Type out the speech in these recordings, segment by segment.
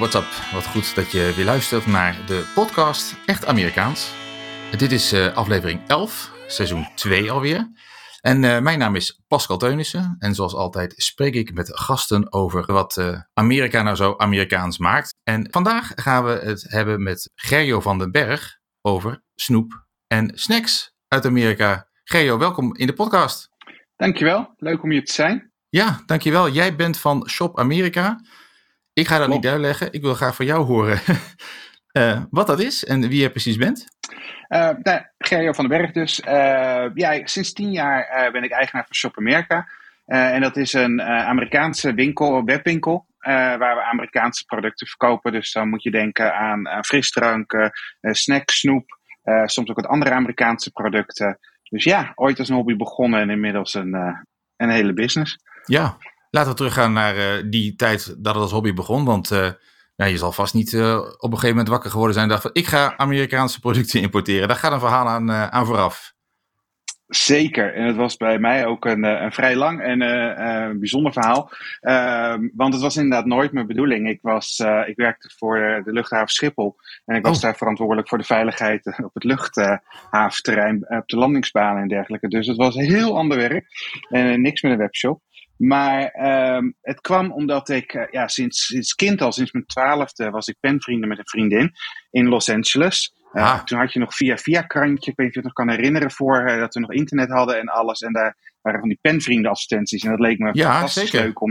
what's up? Wat goed dat je weer luistert naar de podcast Echt Amerikaans. Dit is aflevering 11, seizoen 2 alweer. En mijn naam is Pascal Teunissen. En zoals altijd spreek ik met gasten over wat Amerika nou zo Amerikaans maakt. En vandaag gaan we het hebben met Gerjo van den Berg over snoep en snacks uit Amerika. Gerjo, welkom in de podcast. Dankjewel, leuk om hier te zijn. Ja, dankjewel. Jij bent van Shop Amerika. Ik ga dat niet uitleggen. Ik wil graag van jou horen wat dat is en wie je precies bent. Gerjo van den Berg dus. Sinds 10 jaar ben ik eigenaar van Shop Amerika. En dat is een Amerikaanse webwinkel, waar we Amerikaanse producten verkopen. Dus dan moet je denken aan frisdranken, snacks, snoep, soms ook wat andere Amerikaanse producten. Dus ja, ooit als een hobby begonnen en inmiddels een hele business. Ja, laten we teruggaan naar die tijd dat het als hobby begon. Want je zal vast niet op een gegeven moment wakker geworden zijn en dacht van ik ga Amerikaanse producten importeren. Daar gaat een verhaal aan vooraf. Zeker, en het was bij mij ook een vrij lang en bijzonder verhaal. Want het was inderdaad nooit mijn bedoeling. Ik werkte voor de luchthaven Schiphol. En ik was daar verantwoordelijk voor de veiligheid op het luchthaventerrein, op de landingsbanen en dergelijke. Dus het was heel ander werk en niks met een webshop. Maar het kwam omdat ik sinds kind al, sinds mijn 12e, was ik penvrienden met een vriendin in Los Angeles. Toen had je nog via krantje, ik weet niet of je het nog kan herinneren, dat we nog internet hadden en alles. En daar waren van die penvriendenadvertenties. En dat leek me fantastisch leuk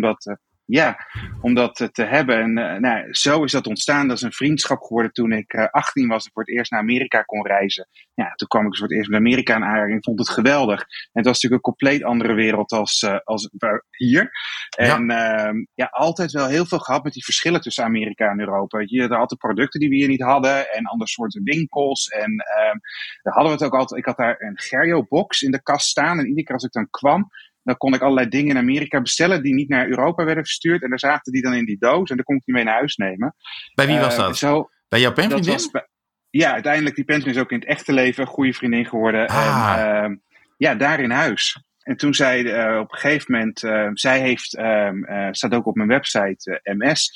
om dat te hebben. En zo is dat ontstaan. Dat is een vriendschap geworden toen ik 18 was en voor het eerst naar Amerika kon reizen. Ja, toen kwam ik dus voor het eerst met Amerika in aanraking en vond het geweldig. En het was natuurlijk een compleet andere wereld als hier. En altijd wel heel veel gehad met die verschillen tussen Amerika en Europa. Je had altijd producten die we hier niet hadden en andere soorten winkels. En daar hadden we het ook altijd. Ik had daar een Gerjo-box in de kast staan en iedere keer als ik dan kwam, dan kon ik allerlei dingen in Amerika bestellen die niet naar Europa werden verstuurd. En daar zaten die dan in die doos en dan kon ik die mee naar huis nemen. Bij wie was dat? Bij jouw penvriendin? Uiteindelijk, die penvriendin is ook in het echte leven een goede vriendin geworden. En daar in huis. En toen zei op een gegeven moment, zij staat ook op mijn website MS.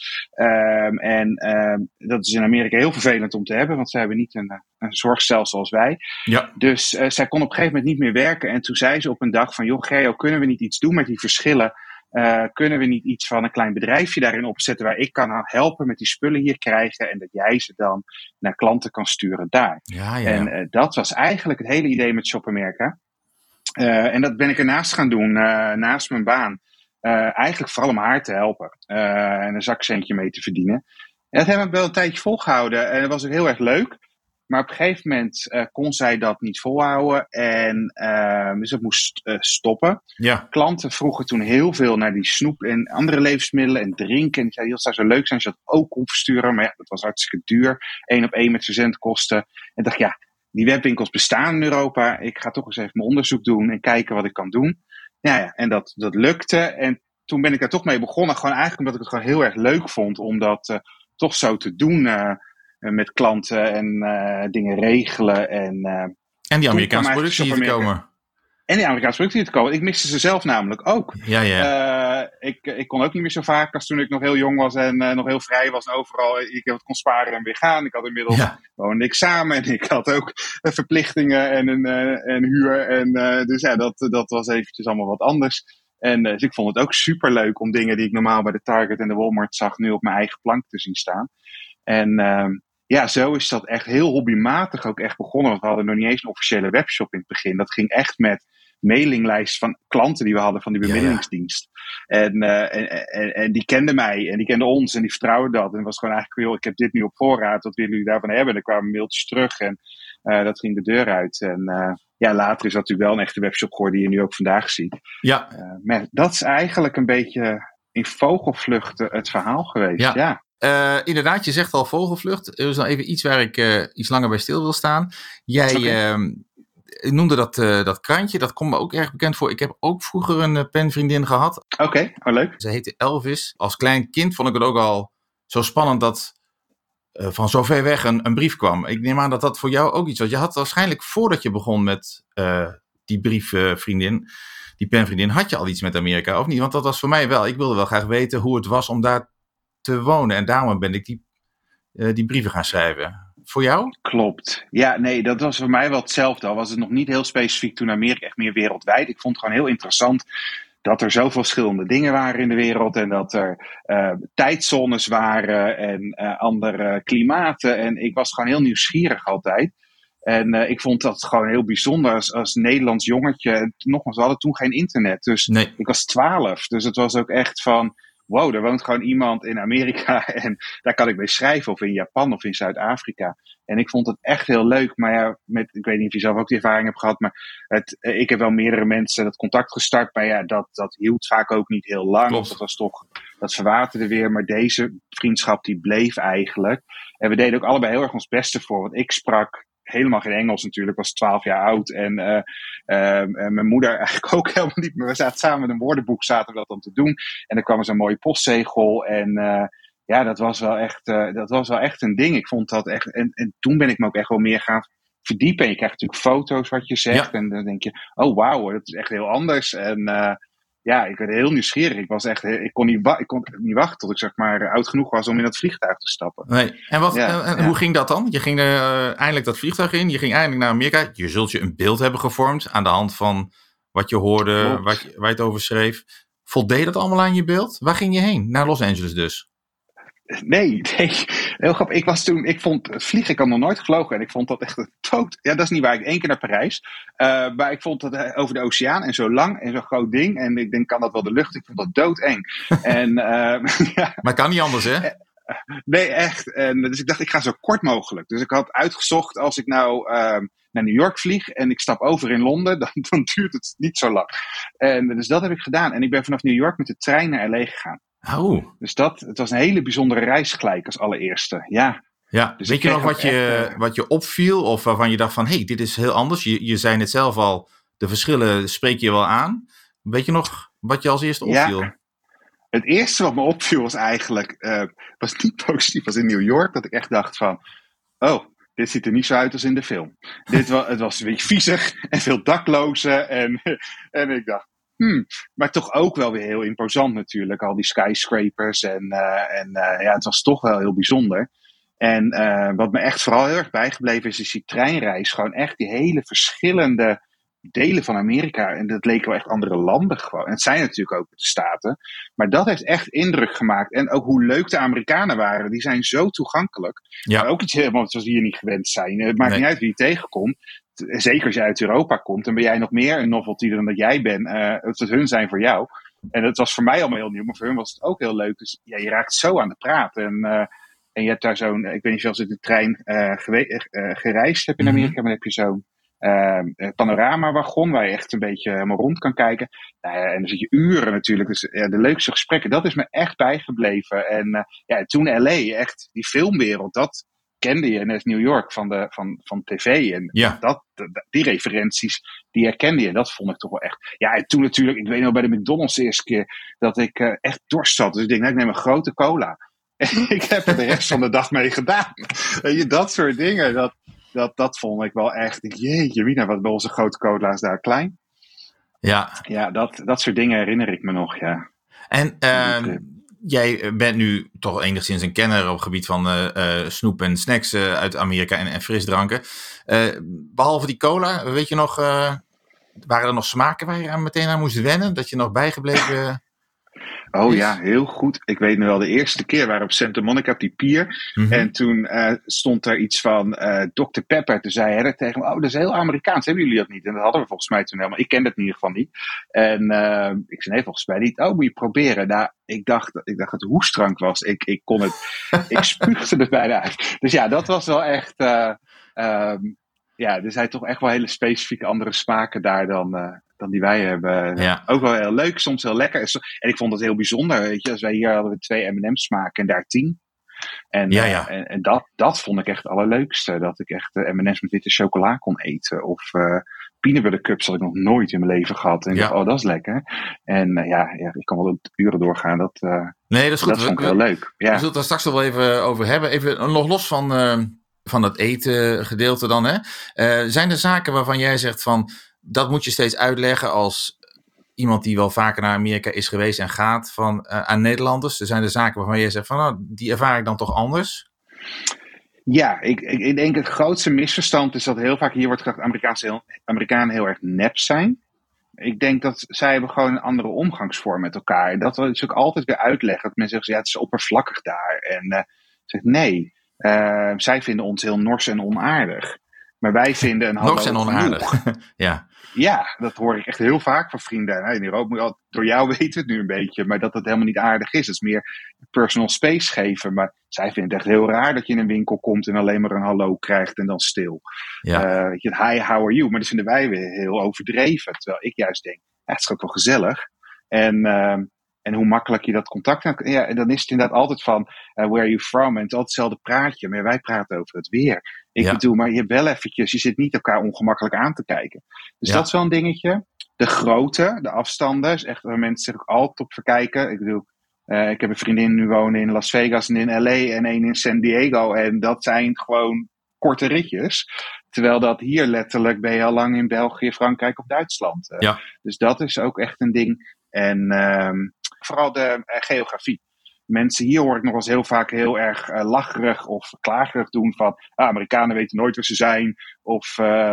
Dat is in Amerika heel vervelend om te hebben, want zij hebben niet een zorgstelsel als wij. Ja. Dus zij kon op een gegeven moment niet meer werken. En toen zei ze op een dag van, joh Gerjo, kunnen we niet iets doen met die verschillen? Kunnen we niet iets van een klein bedrijfje daarin opzetten waar ik kan helpen met die spullen hier krijgen en dat jij ze dan naar klanten kan sturen daar. Ja. En dat was eigenlijk het hele idee met Shop Amerika. En dat ben ik ernaast gaan doen, naast mijn baan. Eigenlijk vooral om haar te helpen. En een zakcentje mee te verdienen. En dat hebben we wel een tijdje volgehouden. En dat was ook heel erg leuk. Maar op een gegeven moment kon zij dat niet volhouden. Dus dat moest stoppen. Ja. Klanten vroegen toen heel veel naar die snoep en andere levensmiddelen en drinken. En die zeiden, het zou zo leuk zijn als je dat ook kon versturen. Maar ja, dat was hartstikke duur. 1-op-1 met verzendkosten. En ik dacht, die webwinkels bestaan in Europa. Ik ga toch eens even mijn onderzoek doen en kijken wat ik kan doen. En dat lukte. En toen ben ik daar toch mee begonnen. Gewoon eigenlijk omdat ik het gewoon heel erg leuk vond om dat toch zo te doen met klanten en dingen regelen. En die Amerikaanse producten hier te komen. En die Amerikaanse producten hier te komen. Ik miste ze zelf namelijk ook. Ja. Ik kon ook niet meer zo vaak als toen ik nog heel jong was en nog heel vrij was. En overal ik kon sparen en weer gaan. Ik had inmiddels gewoon een examen en ik had ook verplichtingen en huur. Dus dat was eventjes allemaal wat anders. En dus ik vond het ook superleuk om dingen die ik normaal bij de Target en de Walmart zag nu op mijn eigen plank te zien staan. En zo is dat echt heel hobbymatig ook echt begonnen. Want we hadden nog niet eens een officiële webshop in het begin. Dat ging echt met mailinglijst van klanten die we hadden van die bemiddelingsdienst. En die kenden mij en die kenden ons en die vertrouwden dat. En het was gewoon eigenlijk, joh, ik heb dit nu op voorraad, wat willen jullie daarvan hebben? En er kwamen mailtjes terug en dat ging de deur uit. En later is dat natuurlijk wel een echte webshop geworden die je nu ook vandaag ziet. Ja. Maar dat is eigenlijk een beetje in vogelvlucht het verhaal geweest. Ja. Inderdaad, je zegt al vogelvlucht. Er is nog even iets waar ik iets langer bij stil wil staan. Jij noemde dat krantje, dat komt me ook erg bekend voor. Ik heb ook vroeger een penvriendin gehad. Oké, leuk. Ze heette Elvis. Als klein kind vond ik het ook al zo spannend dat van zo ver weg een brief kwam. Ik neem aan dat dat voor jou ook iets was. Je had waarschijnlijk voordat je begon met die briefvriendin, die penvriendin, had je al iets met Amerika of niet? Want dat was voor mij wel. Ik wilde wel graag weten hoe het was om daar te wonen. En daarom ben ik die die brieven gaan schrijven. Voor jou? Klopt. Ja, nee, dat was voor mij wel hetzelfde. Al was het nog niet heel specifiek toen Amerika, echt meer wereldwijd. Ik vond het gewoon heel interessant dat er zoveel verschillende dingen waren in de wereld. En dat er tijdzones waren en andere klimaten. En ik was gewoon heel nieuwsgierig altijd. En ik vond dat gewoon heel bijzonder als Nederlands jongetje. Nogmaals, we hadden toen geen internet. Dus Nee. ik was 12. Dus het was ook echt van, wow, er woont gewoon iemand in Amerika. En daar kan ik mee schrijven. Of in Japan of in Zuid-Afrika. En ik vond het echt heel leuk. Maar ja, ik weet niet of je zelf ook die ervaring hebt gehad. Maar ik heb wel meerdere mensen dat contact gestart. Maar ja, dat hield vaak ook niet heel lang. Klopt. Dat was toch, dat verwaterde weer. Maar deze vriendschap die bleef eigenlijk. En we deden ook allebei heel erg ons beste voor. Want ik sprak helemaal geen Engels natuurlijk, was 12 jaar oud. En mijn moeder eigenlijk ook helemaal niet. Maar we zaten samen met een woordenboek, zaten we dat dan te doen. En er kwam er zo'n mooie postzegel. En ja, dat was wel echt een ding. Ik vond dat echt. En toen ben ik me ook echt wel meer gaan verdiepen. En je krijgt natuurlijk foto's wat je zegt. Ja. En dan denk je, oh wauw, dat is echt heel anders. En ja, ik werd heel nieuwsgierig. Ik kon niet wachten tot ik zeg maar oud genoeg was om in dat vliegtuig te stappen. Nee. En hoe ging dat dan? Je ging eindelijk dat vliegtuig in. Je ging eindelijk naar Amerika. Je zult je een beeld hebben gevormd aan de hand van wat je hoorde, waar je het over schreef. Voldeed dat allemaal aan je beeld? Waar ging je heen? Naar Los Angeles dus? Nee. Heel grappig. Ik vond vliegen, ik had nog nooit gevlogen. En ik vond dat echt een dood. Ja, dat is niet waar. Ik 1 keer naar Parijs. Maar ik vond dat over de oceaan en zo lang en zo'n groot ding. En ik denk, kan dat wel de lucht? Ik vond dat doodeng. En, ja. Maar het kan niet anders, hè? Nee, echt. En, dus ik dacht, ik ga zo kort mogelijk. Dus ik had uitgezocht, als ik nou naar New York vlieg en ik stap over in Londen, dan duurt het niet zo lang. En dus dat heb ik gedaan. En ik ben vanaf New York met de trein naar LA gegaan. Oh. Dus het was een hele bijzondere reis gelijk als allereerste. Ja. Ja. Dus weet je nog wat je opviel of waarvan je dacht van, hey, dit is heel anders. Je zei het zelf al, de verschillen spreek je wel aan. Weet je nog wat je als eerste opviel? Ja. Het eerste wat me opviel was eigenlijk, was niet positief, was in New York, dat ik echt dacht van, oh, dit ziet er niet zo uit als in de film. Het was een beetje viezig en veel daklozen en ik dacht, maar toch ook wel weer heel imposant natuurlijk, al die skyscrapers en ja, het was toch wel heel bijzonder. En wat me echt vooral heel erg bijgebleven is die treinreis, gewoon echt die hele verschillende delen van Amerika. En dat leken wel echt andere landen gewoon. En het zijn natuurlijk ook de Staten. Maar dat heeft echt indruk gemaakt. En ook hoe leuk de Amerikanen waren. Die zijn zo toegankelijk. Ja. Maar ook iets helemaal zoals die hier niet gewend zijn. Het maakt niet uit wie je tegenkomt. Zeker als je uit Europa komt. Dan ben jij nog meer een novelty dan dat jij bent. Dat hun zijn voor jou. En dat was voor mij allemaal heel nieuw. Maar voor hun was het ook heel leuk. Dus ja, je raakt zo aan de praat. En je hebt daar zo'n, ik weet niet of je in de trein gereisd hebt in Amerika. Maar dan heb je zo'n panoramawagon waar je echt een beetje helemaal rond kan kijken. En dan zit je uren natuurlijk. Dus de leukste gesprekken, dat is me echt bijgebleven. En toen LA, echt die filmwereld, dat kende je. Net New York van tv. En die referenties, die herkende je. Dat vond ik toch wel echt. Ja, en toen natuurlijk, ik weet nog bij de McDonald's de eerste keer dat ik echt dorst zat. Dus ik denk, nou, ik neem een grote cola. En ik heb er de rest van de dag mee gedaan. Dat soort dingen, dat vond ik wel echt. Jeetje, Mina, wat bij onze grote cola's daar klein. Ja, dat soort dingen herinner ik me nog, ja. En jij bent nu toch enigszins een kenner op het gebied van snoep en snacks uit Amerika en frisdranken. Behalve die cola, weet je nog, waren er nog smaken waar je meteen aan moest wennen? Dat je nog bijgebleven... Oh ja, heel goed. Ik weet nog wel, de eerste keer waren we op Santa Monica op die pier. Mm-hmm. En toen stond er iets van Dr. Pepper. Toen zei hij tegen me, oh, dat is heel Amerikaans. Hebben jullie dat niet? En dat hadden we volgens mij toen helemaal. Ik kende het in ieder geval niet. En ik zei, nee, volgens mij niet. Oh, moet je proberen. Nou, ik dacht dat het hoestdrank was. Ik kon het, ik spuugde het bijna uit. Dus ja, dat was wel echt... er zijn toch echt wel hele specifieke andere smaken daar dan die wij hebben. Ja. Ook wel heel leuk, soms heel lekker. En ik vond het heel bijzonder. Weet je, als wij hier hadden we 2 M&M's smaken en daar 10. En dat vond ik echt het allerleukste. Dat ik echt M&M's met witte chocola kon eten. Of peanut butter cups had ik nog nooit in mijn leven gehad. En ik dacht, oh, dat is lekker. En ik kan wel uren doorgaan. Dat is goed. Dat vond ik heel leuk. Ja. We zullen het daar straks wel even over hebben. Even nog los van dat eten gedeelte dan. Hè? Zijn er zaken waarvan jij zegt van... Dat moet je steeds uitleggen als iemand die wel vaker naar Amerika is geweest en gaat aan Nederlanders. Er zijn de zaken waarvan jij zegt van, nou, die ervaar ik dan toch anders. Ja, ik denk het grootste misverstand is dat heel vaak hier wordt gedacht dat Amerikanen heel erg nep zijn. Ik denk dat zij hebben gewoon een andere omgangsvorm met elkaar. Dat wil ik ook altijd weer uitleggen. Dat mensen zeggen, ja, het is oppervlakkig daar. En ik zeg, nee, zij vinden ons heel nors en onaardig. Maar wij vinden een hallo Nors en onaardig. Ja. Ja, dat hoor ik echt heel vaak van vrienden. In Europa, door jou weten we het nu een beetje, maar dat het helemaal niet aardig is. Het is meer personal space geven. Maar zij vinden het echt heel raar dat je in een winkel komt en alleen maar een hallo krijgt en dan stil. Ja. Hi, how are you? Maar dat vinden wij weer heel overdreven. Terwijl ik juist denk, het is ook wel gezellig. En hoe makkelijk je dat contact hebt. Ja, en dan is het inderdaad altijd van, where are you from? En het is altijd hetzelfde praatje, maar wij praten over het weer. Ik bedoel, maar je hebt wel eventjes, je zit niet elkaar ongemakkelijk aan te kijken. Dus dat is wel een dingetje. De grootte, de afstanden, is echt waar mensen zich ook altijd op verkijken. Ik bedoel, ik heb een vriendin nu wonen in Las Vegas en in LA en één in San Diego. En dat zijn gewoon korte ritjes. Terwijl dat hier letterlijk ben je al lang in België, Frankrijk of Duitsland. Dus dat is ook echt een ding. En vooral de geografie. Mensen hier hoor ik nog eens heel vaak heel erg lacherig of klagerig doen van Amerikanen weten nooit waar ze zijn. Of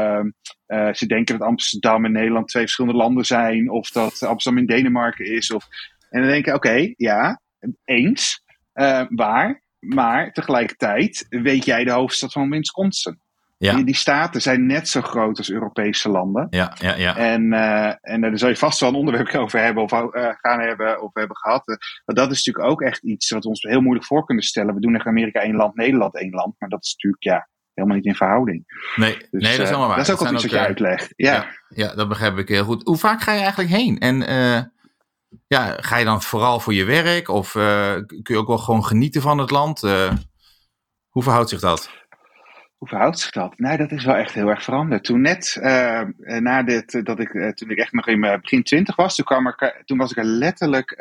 ze denken dat Amsterdam en Nederland twee verschillende landen zijn. Of dat Amsterdam in Denemarken is. En dan denk ik, oké, ja, eens, waar. Maar tegelijkertijd weet jij de hoofdstad van Wisconsin. Ja. Die staten zijn net zo groot als Europese landen. Ja. En daar zal je vast wel een onderwerp over hebben of gaan hebben of hebben gehad. Maar dat is natuurlijk ook echt iets wat we ons heel moeilijk voor kunnen stellen. We doen in Amerika 1 land, Nederland 1 land. Maar dat is natuurlijk helemaal niet in verhouding. Nee, dus, dat is helemaal waar. Dat is ook al iets wat je uitlegt. Ja, dat begrijp ik heel goed. Hoe vaak ga je eigenlijk heen? En ga je dan vooral voor je werk? Of kun je ook wel gewoon genieten van het land? Hoe verhoudt zich dat? Hoe verhoudt zich dat? Nou, dat is wel echt heel erg veranderd. Toen toen ik echt nog in mijn begin 20 was, toen was ik er letterlijk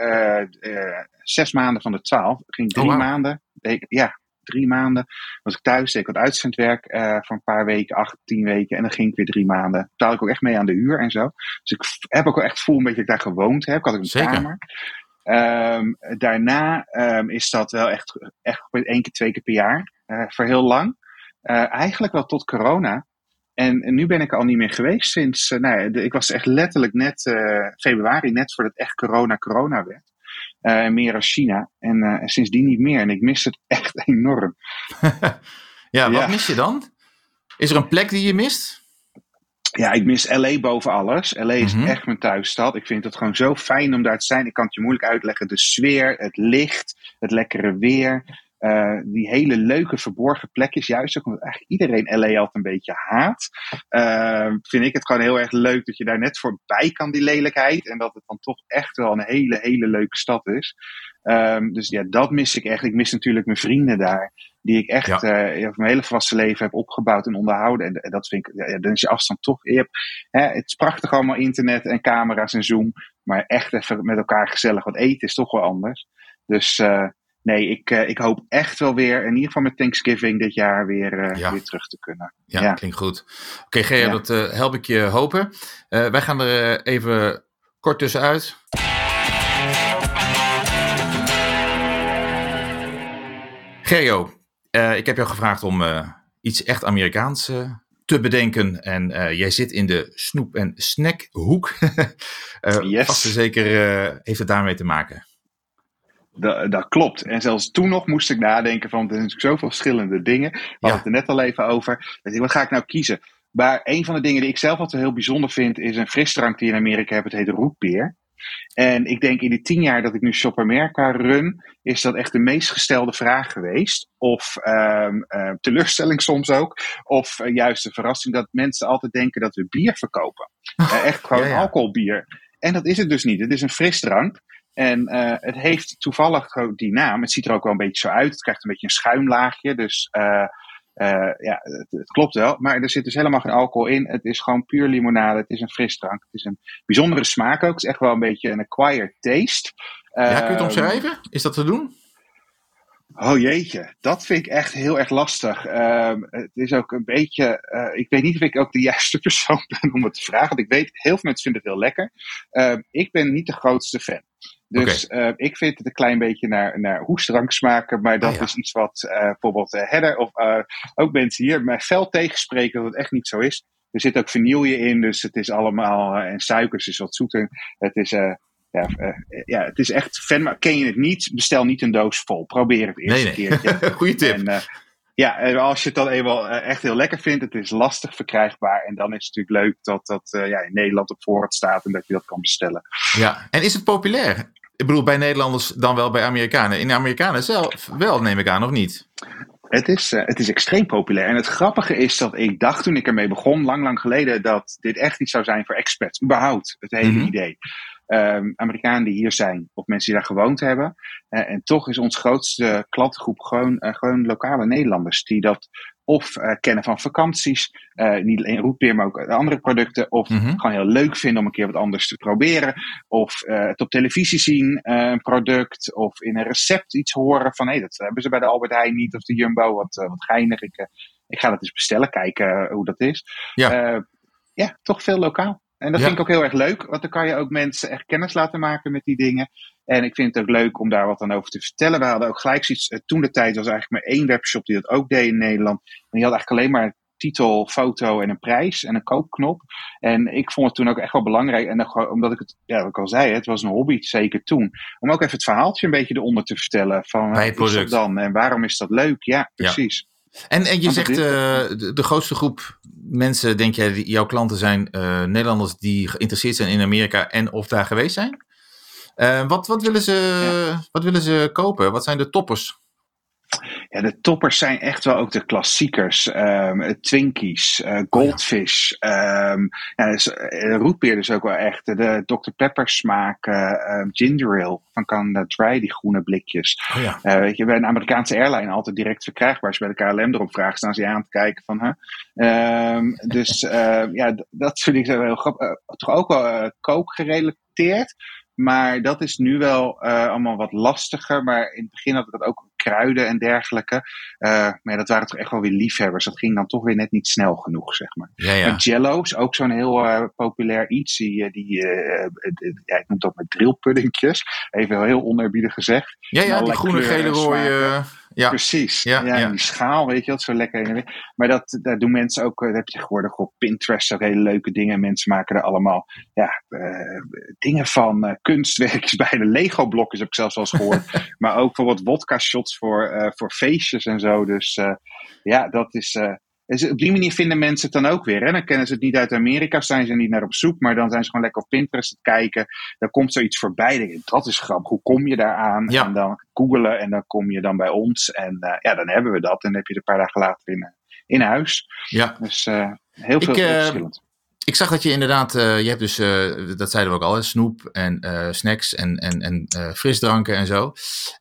6 maanden van de 12. Ik ging 3 maanden. 3 maanden was ik thuis, deed ik wat uitzendwerk voor een paar weken, 8, 10 weken. En dan ging ik weer 3 maanden. Betaalde ik ook echt mee aan de huur en zo. Dus ik heb ook wel echt gevoel een beetje dat ik daar gewoond heb. Ik had ook een kamer. Daarna is dat wel echt 1 keer, 2 keer per jaar. Voor heel lang. Eigenlijk wel tot corona. En nu ben ik er al niet meer geweest sinds... ik was echt letterlijk net februari, net voordat het echt corona werd. Meer als China. En sindsdien niet meer. En ik mis het echt enorm. Wat mis je dan? Is er een plek die je mist? Ja, ik mis LA boven alles. LA is echt mijn thuisstad. Ik vind het gewoon zo fijn om daar te zijn. Ik kan het je moeilijk uitleggen. De sfeer, het licht, het lekkere weer... die hele leuke verborgen plekjes, juist ook omdat eigenlijk iedereen LA altijd een beetje haat, vind ik het gewoon heel erg leuk dat je daar net voorbij kan, die lelijkheid, en dat het dan toch echt wel een hele, hele leuke stad is. Dus ja, dat mis ik echt. Ik mis natuurlijk mijn vrienden daar, die ik echt mijn hele volwassen leven heb opgebouwd en onderhouden. En dat vind ik, dan is je afstand toch. Het is prachtig allemaal internet en camera's en Zoom, maar echt even met elkaar gezellig wat eten is toch wel anders. Dus nee, ik hoop echt wel weer, in ieder geval met Thanksgiving dit jaar weer terug te kunnen. Ja, klinkt goed. Oké, Gerjo, dat help ik je hopen. Wij gaan er even kort tussenuit. Gerjo, ik heb jou gevraagd om iets echt Amerikaans te bedenken. En jij zit in de snoep- en snackhoek. Vast en zeker heeft het daarmee te maken. Dat klopt. En zelfs toen nog moest ik nadenken van, er zijn natuurlijk zoveel verschillende dingen. We hadden het er net al even over. Wat ga ik nou kiezen? Maar een van de dingen die ik zelf altijd heel bijzonder vind, is een frisdrank die in Amerika hebben. Het heet rootbeer. En ik denk in die 10 jaar dat ik nu Shop America run, is dat echt de meest gestelde vraag geweest. Of teleurstelling soms ook. Of juist een verrassing dat mensen altijd denken dat we bier verkopen. Echt gewoon alcoholbier. En dat is het dus niet. Het is een frisdrank. En het heeft toevallig die naam. Het ziet er ook wel een beetje zo uit. Het krijgt een beetje een schuimlaagje. Dus het klopt wel. Maar er zit dus helemaal geen alcohol in. Het is gewoon puur limonade. Het is een frisdrank. Het is een bijzondere smaak ook. Het is echt wel een beetje een acquired taste. Kun je het omschrijven? Is dat te doen? Oh jeetje, dat vind ik echt heel erg lastig. Het is ook een beetje... ik weet niet of ik ook de juiste persoon ben om het te vragen. Want ik weet, heel veel mensen vinden het heel lekker. Ik ben niet de grootste fan. Dus ik vind het een klein beetje naar hoestdrank smaken. Maar dat is iets wat bijvoorbeeld Hedder of ook mensen hier mij fel tegenspreken dat het echt niet zo is. Er zit ook vanille in, dus het is allemaal... en suikers is wat zoeter. Het is... het is echt fan, maar ken je het niet, bestel niet een doos vol. Probeer het eerste keertje. Goeie tip. En als je het dan eenmaal echt heel lekker vindt, het is lastig verkrijgbaar. En dan is het natuurlijk leuk dat in Nederland op voorraad staat en dat je dat kan bestellen. Ja, en is het populair? Ik bedoel, bij Nederlanders dan wel bij Amerikanen. In de Amerikanen zelf wel, neem ik aan, of niet? Het is extreem populair. En het grappige is dat ik dacht toen ik ermee begon, lang geleden, dat dit echt iets zou zijn voor expats. Überhaupt, het hele idee. Amerikanen die hier zijn, of mensen die daar gewoond hebben. En toch is ons grootste klantengroep gewoon lokale Nederlanders. Die dat of kennen van vakanties, niet alleen rootbeer, maar ook andere producten. Of gewoon heel leuk vinden om een keer wat anders te proberen. Of het op televisie zien, een product. Of in een recept iets horen van, dat hebben ze bij de Albert Heijn niet. Of de Jumbo, wat geinig. Ik ga dat eens bestellen, kijken hoe dat is. Toch veel lokaal. En dat vind ik ook heel erg leuk, want dan kan je ook mensen echt kennis laten maken met die dingen. En ik vind het ook leuk om daar wat aan over te vertellen. We hadden ook gelijk zoiets, toen de tijd was eigenlijk maar één webshop die dat ook deed in Nederland. En die had eigenlijk alleen maar titel, foto en een prijs en een koopknop. En ik vond het toen ook echt wel belangrijk. En dan, omdat ik het, wat ik al zei, het was een hobby, zeker toen. Om ook even het verhaaltje een beetje eronder te vertellen. Van bij het wat is product dat dan en waarom is dat leuk? Ja, precies. Ja. En je zegt de grootste groep mensen, denk jij, jouw klanten zijn Nederlanders die geïnteresseerd zijn in Amerika en of daar geweest zijn? Wat willen ze kopen? Wat zijn de toppers? Ja, de toppers zijn echt wel ook de klassiekers. Twinkies, Goldfish. Rootbeer dus ook wel echt. De Dr. Pepper smaak, ginger ale van Canada Dry, die groene blikjes. Weet je, bij een Amerikaanse airline altijd direct verkrijgbaar. Als je bij de KLM erop vraagt, staan ze je aan te kijken van... dat vind ik zo heel grappig. Toch ook wel kookgerelateerd. Maar dat is nu wel allemaal wat lastiger. Maar in het begin had ik dat ook kruiden en dergelijke. Maar dat waren toch echt wel weer liefhebbers. Dat ging dan toch weer net niet snel genoeg, zeg maar. Ja. Jello is ook zo'n heel populair iets. Ik noem het ook met drillpuddingjes. Even heel oneerbiedig gezegd. Ja, die groene, gele, rode... Ja. Precies. Ja. Die schaal, weet je, dat is zo lekker heen en weer. Maar daar doen mensen ook, dat heb je tegenwoordig op Pinterest ook hele leuke dingen. Mensen maken er allemaal dingen van, kunstwerkjes bij de Lego-blokjes heb ik zelfs al eens gehoord. Maar ook bijvoorbeeld vodka-shots voor feestjes en zo. Dus dat is... Dus op die manier vinden mensen het dan ook weer. Hè? Dan kennen ze het niet uit Amerika, zijn ze niet naar op zoek. Maar dan zijn ze gewoon lekker op Pinterest te kijken. Dan komt zoiets voorbij. Dan denk je, dat is grappig. Hoe kom je daaraan? Ja. En dan googelen en dan kom je dan bij ons. En dan hebben we dat. En dan heb je het een paar dagen later in huis. Ja. Dus heel veel verschillend. Ik zag dat je inderdaad, je hebt dus, dat zeiden we ook al, snoep en snacks en frisdranken en zo.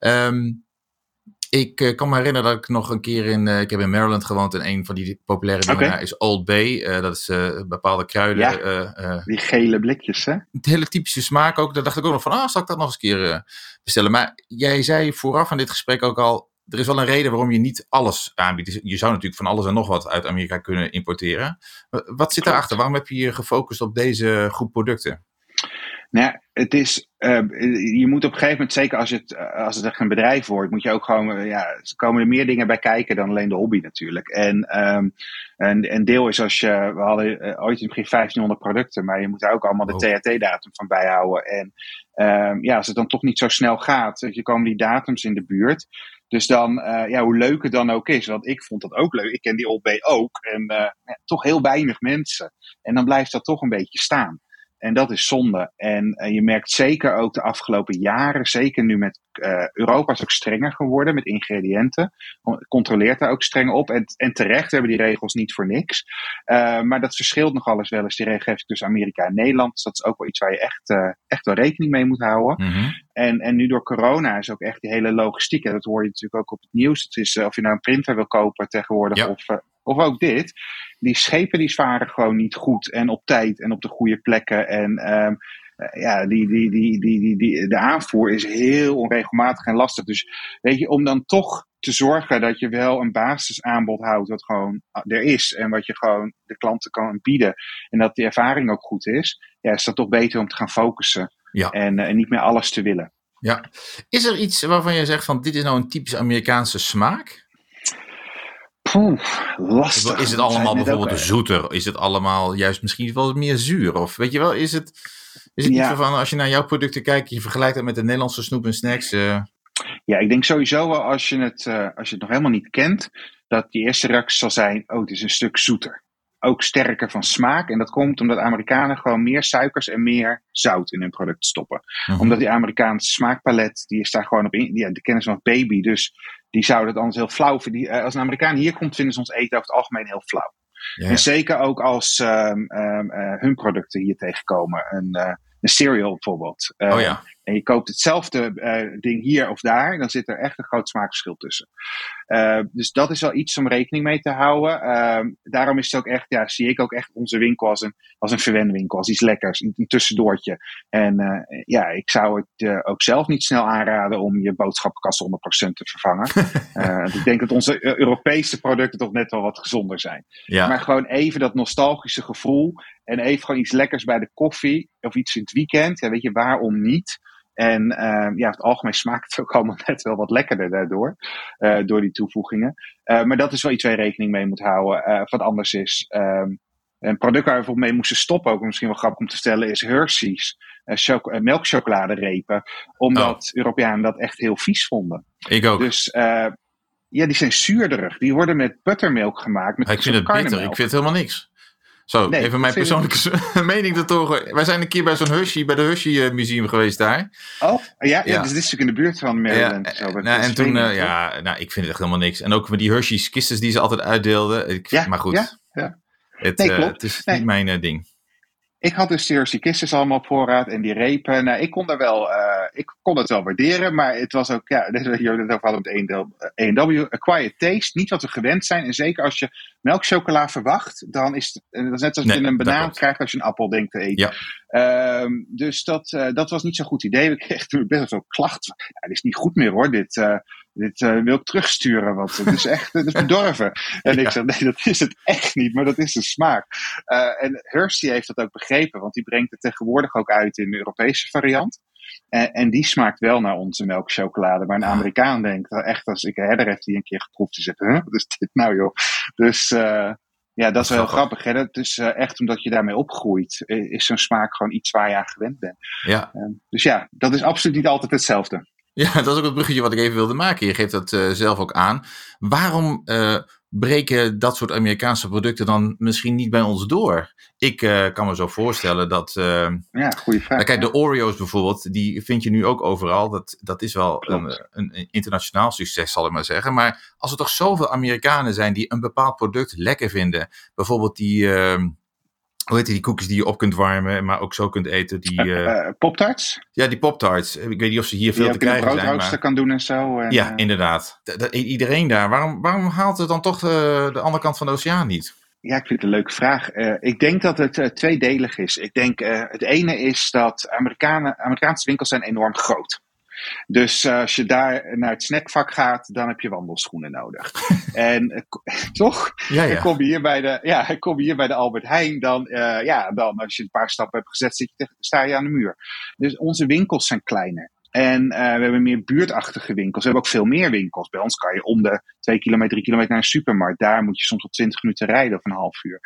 Ik kan me herinneren dat ik nog een keer ik heb in Maryland gewoond en een van die populaire dingen daar is Old Bay. Dat is bepaalde kruiden. Ja, die gele blikjes, hè? Het hele typische smaak ook. Daar dacht ik ook nog van, zal ik dat nog eens een keer bestellen. Maar jij zei vooraf aan dit gesprek ook al, er is wel een reden waarom je niet alles aanbiedt. Je zou natuurlijk van alles en nog wat uit Amerika kunnen importeren. Wat zit daarachter? Waarom heb je je gefocust op deze groep producten? Nou, het is, je moet op een gegeven moment, zeker als het echt een bedrijf wordt, moet je ook gewoon, er komen er meer dingen bij kijken dan alleen de hobby natuurlijk. En een deel is we hadden ooit in het begin 1500 producten, maar je moet daar ook allemaal de THT-datum van bijhouden. En als het dan toch niet zo snel gaat, je komen die datums in de buurt. Dus dan, hoe leuk het dan ook is, want ik vond dat ook leuk. Ik ken die Old Bay ook en toch heel weinig mensen. En dan blijft dat toch een beetje staan. En dat is zonde. En je merkt zeker ook de afgelopen jaren, zeker nu met Europa is ook strenger geworden met ingrediënten. Controleert daar ook streng op. En terecht, we hebben die regels niet voor niks. Maar dat verschilt nogal eens wel eens, die regelgeving tussen Amerika en Nederland. Dus dat is ook wel iets waar je echt wel rekening mee moet houden. Mm-hmm. En nu door corona is ook echt die hele logistiek. En dat hoor je natuurlijk ook op het nieuws. Het is of je nou een printer wil kopen tegenwoordig of ook dit. Die schepen die varen gewoon niet goed en op tijd en op de goede plekken. En de aanvoer is heel onregelmatig en lastig. Dus weet je, om dan toch te zorgen dat je wel een basisaanbod houdt wat gewoon er is. En wat je gewoon de klanten kan bieden. En dat die ervaring ook goed is. Ja, is dat toch beter om te gaan focussen. Ja. En niet meer alles te willen. Ja. Is er iets waarvan je zegt van dit is nou een typisch Amerikaanse smaak? Poeh, lastig. Is het allemaal bijvoorbeeld zoeter? Is het allemaal juist misschien wel meer zuur? Of weet je wel, is het iets waarvan als je naar jouw producten kijkt, je vergelijkt dat met de Nederlandse snoep en snacks? Ja, ik denk sowieso wel als je het nog helemaal niet kent, dat die eerste reactie zal zijn, oh, het is een stuk zoeter. Ook sterker van smaak. En dat komt omdat Amerikanen gewoon meer suikers en meer zout in hun product stoppen. Omdat die Amerikaanse smaakpalet, die is daar gewoon op in. Die kennen ze nog baby. Dus die zouden het anders heel flauw vinden. Als een Amerikaan hier komt, vinden ze ons eten over het algemeen heel flauw. Ja. En zeker ook als hun producten hier tegenkomen. Een cereal bijvoorbeeld. En je koopt hetzelfde ding hier of daar, dan zit er echt een groot smaakverschil tussen. Dus dat is wel iets om rekening mee te houden. Daarom is het ook echt, zie ik ook echt onze winkel als een verwenwinkel, als iets lekkers, een tussendoortje. En ik zou het ook zelf niet snel aanraden om je boodschappenkast 100% te vervangen. Ik denk dat onze Europese producten toch net wel wat gezonder zijn. Ja. Maar gewoon even dat nostalgische gevoel en even gewoon iets lekkers bij de koffie of iets in het weekend. Ja, weet je, waarom niet? En over het algemeen smaakt het ook allemaal net wel wat lekkerder daardoor. Door die toevoegingen. Maar dat is wel iets waar je rekening mee moet houden. Wat anders is. Een product waar we bijvoorbeeld mee moesten stoppen, ook misschien wel grappig om te stellen, is Hershey's melkchocoladerepen. Omdat Europeanen dat echt heel vies vonden. Ik ook. Dus die zijn zuurderig. Die worden met buttermilk gemaakt. Met ik vind het bitter. Ik vind het helemaal niks. Zo, nee, even mijn persoonlijke mening ertoe. Wij zijn een keer bij zo'n Hershey, bij de Hershey Museum geweest daar. Oh, ja. Dus dit is natuurlijk in de buurt van Maryland. En toen, ik vind het echt helemaal niks. En ook met die Hershey's kistens die ze altijd uitdeelden. Maar goed, het is niet mijn ding. Ik had dus de Hershey Kisses allemaal op voorraad en die repen. Nou, ik kon het wel waarderen, maar het was ook, dit is jullie het over hadden met A&W, quiet taste, niet wat we gewend zijn. En zeker als je melkchocola verwacht, dan is het net als je een banaan krijgt als je een appel denkt te eten. Ja. Dus dat was niet zo'n goed idee. Ik kreeg toen best wel veel klachten. Dit is niet goed meer hoor, dit wil ik terugsturen, want het is echt het is bedorven. En ik zei, nee, dat is het echt niet, maar dat is de smaak. En Hershey heeft dat ook begrepen, want die brengt het tegenwoordig ook uit in de Europese variant. En die smaakt wel naar onze melkchocolade. Maar een Amerikaan denkt, echt als ik een herder heeft die een keer geproefd, die zegt, wat is dit nou joh? Dus dat is wel heel grappig. Hè? Dat is echt omdat je daarmee opgroeit, is zo'n smaak gewoon iets waar je aan gewend bent. Ja. Dus dat is absoluut niet altijd hetzelfde. Ja, dat is ook het bruggetje wat ik even wilde maken. Je geeft dat zelf ook aan. Waarom breken dat soort Amerikaanse producten dan misschien niet bij ons door? Ik kan me zo voorstellen dat... goede vraag. Kijk, de Oreo's bijvoorbeeld, die vind je nu ook overal. Dat is wel een internationaal succes, zal ik maar zeggen. Maar als er toch zoveel Amerikanen zijn die een bepaald product lekker vinden. Bijvoorbeeld die... Hoe heet die koekjes die je op kunt warmen, maar ook zo kunt eten? Pop-tarts? Ja, die Pop-tarts. Ik weet niet of ze hier veel te krijgen zijn. Die je op een broodrooster kan doen en zo. Ja, inderdaad. Iedereen daar. Waarom haalt het dan toch de andere kant van de oceaan niet? Ja, ik vind het een leuke vraag. Ik denk dat het tweedelig is. Ik denk het ene is dat Amerikaanse winkels zijn enorm groot. Dus als je daar naar het snackvak gaat, dan heb je wandelschoenen nodig. En toch? Ja. Ik kom hier bij de Albert Heijn, dan als je een paar stappen hebt gezet, sta je aan de muur. Dus onze winkels zijn kleiner. En we hebben meer buurtachtige winkels. We hebben ook veel meer winkels. Bij ons kan je om de 2 kilometer, 3 kilometer naar een supermarkt. Daar moet je soms tot 20 minuten rijden of een half uur.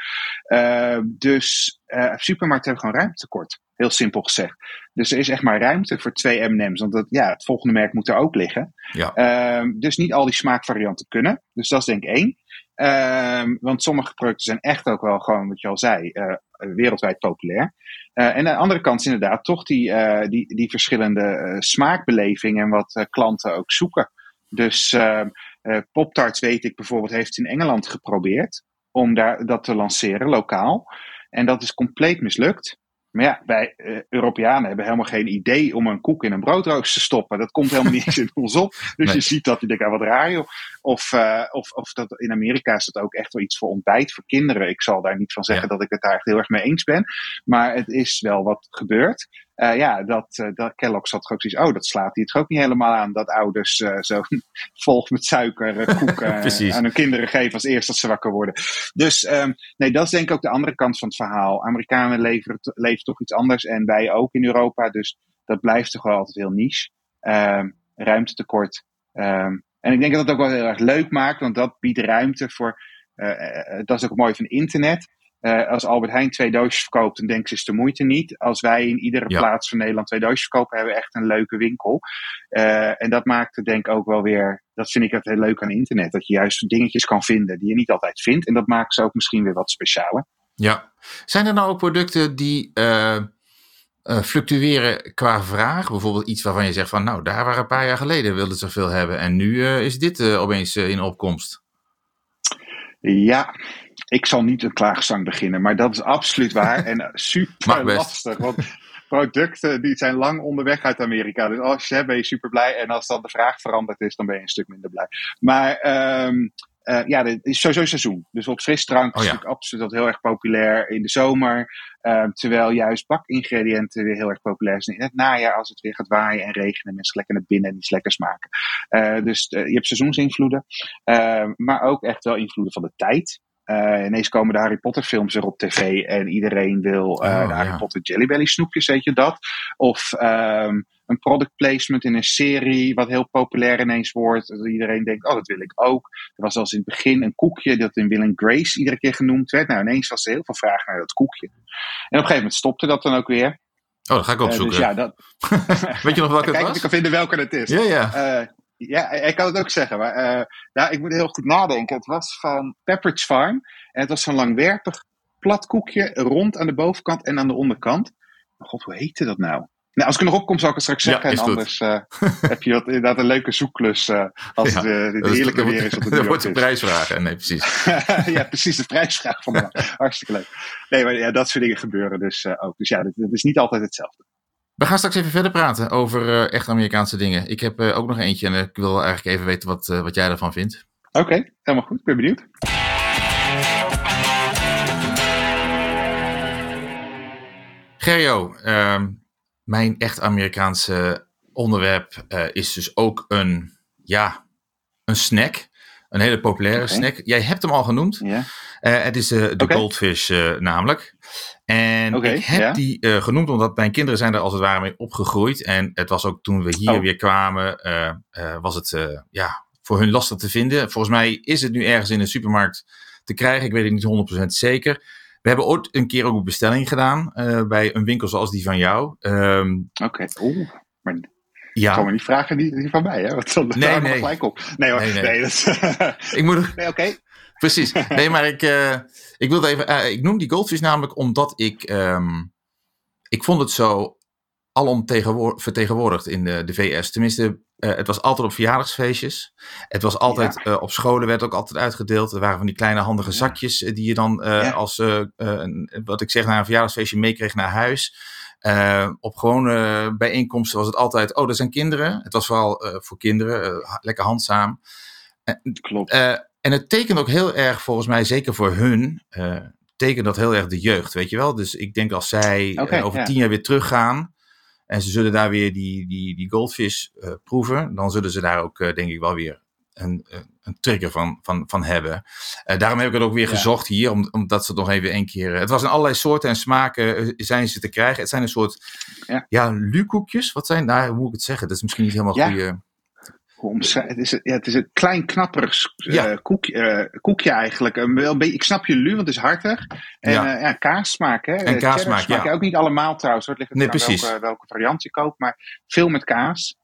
Dus supermarkten hebben gewoon ruimtetekort. Heel simpel gezegd. Dus er is echt maar ruimte voor 2 M&M's. Want het volgende merk moet er ook liggen. Ja. Dus niet al die smaakvarianten kunnen. Dus dat is denk ik 1. Want sommige producten zijn echt ook wel gewoon, wat je al zei, wereldwijd populair. En aan de andere kant is inderdaad toch die verschillende smaakbelevingen en wat klanten ook zoeken. Dus Pop-tarts weet ik bijvoorbeeld heeft in Engeland geprobeerd om dat te lanceren lokaal. En dat is compleet mislukt. Maar ja, wij Europeanen hebben helemaal geen idee om een koek in een broodrooster te stoppen. Dat komt helemaal niet eens in ons op. Dus je ziet dat, je denkt, wat raar joh. Of dat in Amerika is dat ook echt wel iets voor ontbijt voor kinderen. Ik zal daar niet van zeggen dat ik het daar echt heel erg mee eens ben. Maar het is wel wat gebeurt. Dat Kellogg's had ook zoiets, dat slaat hij het ook niet helemaal aan. Dat ouders zo vol met suiker koeken aan hun kinderen geven als eerst als ze wakker worden. Dus dat is denk ik ook de andere kant van het verhaal. Amerikanen leven toch iets anders en wij ook in Europa. Dus dat blijft toch wel altijd heel niche. ruimtetekort. En ik denk dat het ook wel heel erg leuk maakt, want dat biedt ruimte voor. Dat is ook mooi van internet. Als Albert Heijn 2 doosjes verkoopt, dan denken ze is de moeite niet. Als wij in iedere plaats van Nederland 2 doosjes verkopen, hebben we echt een leuke winkel. En dat maakt het denk ik ook wel weer, dat vind ik het heel leuk aan internet. Dat je juist dingetjes kan vinden die je niet altijd vindt. En dat maakt ze ook misschien weer wat specialer. Ja. Zijn er nou ook producten die fluctueren qua vraag? Bijvoorbeeld iets waarvan je zegt van, nou, daar waren een paar jaar geleden wilden ze veel hebben. En nu is dit opeens in opkomst. Ja, ik zal niet een klaagzang beginnen, maar dat is absoluut waar. En super lastig, want producten die zijn lang onderweg uit Amerika. Dus als je hebt, ben je super blij. En als dan de vraag veranderd is, dan ben je een stuk minder blij. Maar het is sowieso seizoen. Dus op frisdrank is natuurlijk absoluut dat heel erg populair in de zomer. Terwijl juist bakingrediënten weer heel erg populair zijn in het najaar. Als het weer gaat waaien en regenen. Mensen lekker naar binnen en iets lekkers maken. Dus je hebt seizoensinvloeden. Maar ook echt wel invloeden van de tijd. Ineens komen de Harry Potter films weer op tv. En iedereen wil de Harry Potter Jelly Belly snoepjes, weet je dat? Of een product placement in een serie wat heel populair ineens wordt. Dat iedereen denkt, dat wil ik ook. Er was zelfs in het begin een koekje dat in Will and Grace iedere keer genoemd werd. Nou, ineens was er heel veel vraag naar dat koekje. En op een gegeven moment stopte dat dan ook weer. Oh, dat ga ik opzoeken. Dus dat... Weet je nog welke het was? Kijk, ik kan vinden welke het is. Ja. Ik kan het ook zeggen. Maar ik moet heel goed nadenken. Het was van Pepperidge Farm. En het was zo'n langwerpig plat koekje. Rond aan de bovenkant en aan de onderkant. Oh God, hoe heette dat nou? Nou, als ik er nog op kom, zal ik het straks zeggen. En anders heb je inderdaad een leuke zoekklus. Als het heerlijke weer is. Dat wordt de prijsvraag. Nee, precies. Ja, precies. De prijsvraag van de hartstikke leuk. Nee, maar dat soort dingen gebeuren dus ook. Dus ja, het is niet altijd hetzelfde. We gaan straks even verder praten over echt Amerikaanse dingen. Ik heb ook nog eentje en ik wil eigenlijk even weten wat jij ervan vindt. Oké, helemaal goed. Ik ben benieuwd. Gerjo, mijn echt Amerikaanse onderwerp is dus ook een snack. Een hele populaire snack. Jij hebt hem al genoemd. Yeah. Het is de Goldfish namelijk. En ik heb die genoemd omdat mijn kinderen zijn er als het ware mee opgegroeid. En het was ook toen we hier weer kwamen, was het voor hun lastig te vinden. Volgens mij is het nu ergens in een supermarkt te krijgen. Ik weet het niet 100% zeker. We hebben ooit een keer ook een bestelling gedaan bij een winkel zoals die van jou. Maar ik kan me niet vragen die van mij, hè? Want dan nee. Gelijk op. Nee hoor, nee. Ik moet... Nee, oké. Precies. Nee, maar ik wilde even... ik noem die Goldfish namelijk omdat ik vond het zo alom vertegenwoordigd in de VS. Tenminste, het was altijd op verjaardagsfeestjes. Het was altijd op scholen, werd ook altijd uitgedeeld. Er waren van die kleine handige zakjes die je dan als, wat ik zeg, naar een verjaardagsfeestje meekreeg naar huis. Op gewone bijeenkomsten was het altijd, er zijn kinderen. Het was vooral voor kinderen, lekker handzaam. Klopt. En het tekent ook heel erg, volgens mij, zeker voor hun, tekent dat heel erg de jeugd, weet je wel. Dus ik denk als zij over 10 jaar weer teruggaan en ze zullen daar weer die Goldfish proeven, dan zullen ze daar ook, denk ik, wel weer een trigger van hebben. Daarom heb ik het ook weer gezocht hier, omdat ze het nog even één keer... Het was in allerlei soorten en smaken zijn ze te krijgen. Het zijn een soort lukoekjes. Wat zijn daar? Hoe moet ik het zeggen? Dat is misschien niet helemaal goede... Het is een klein knapperig koekje eigenlijk. Ik snap je want het is hartig. En kaassmaak. Hè? En kaassmaak, smaak je ook niet allemaal trouwens. Het ligt er welke variant je koopt. Maar veel met kaas.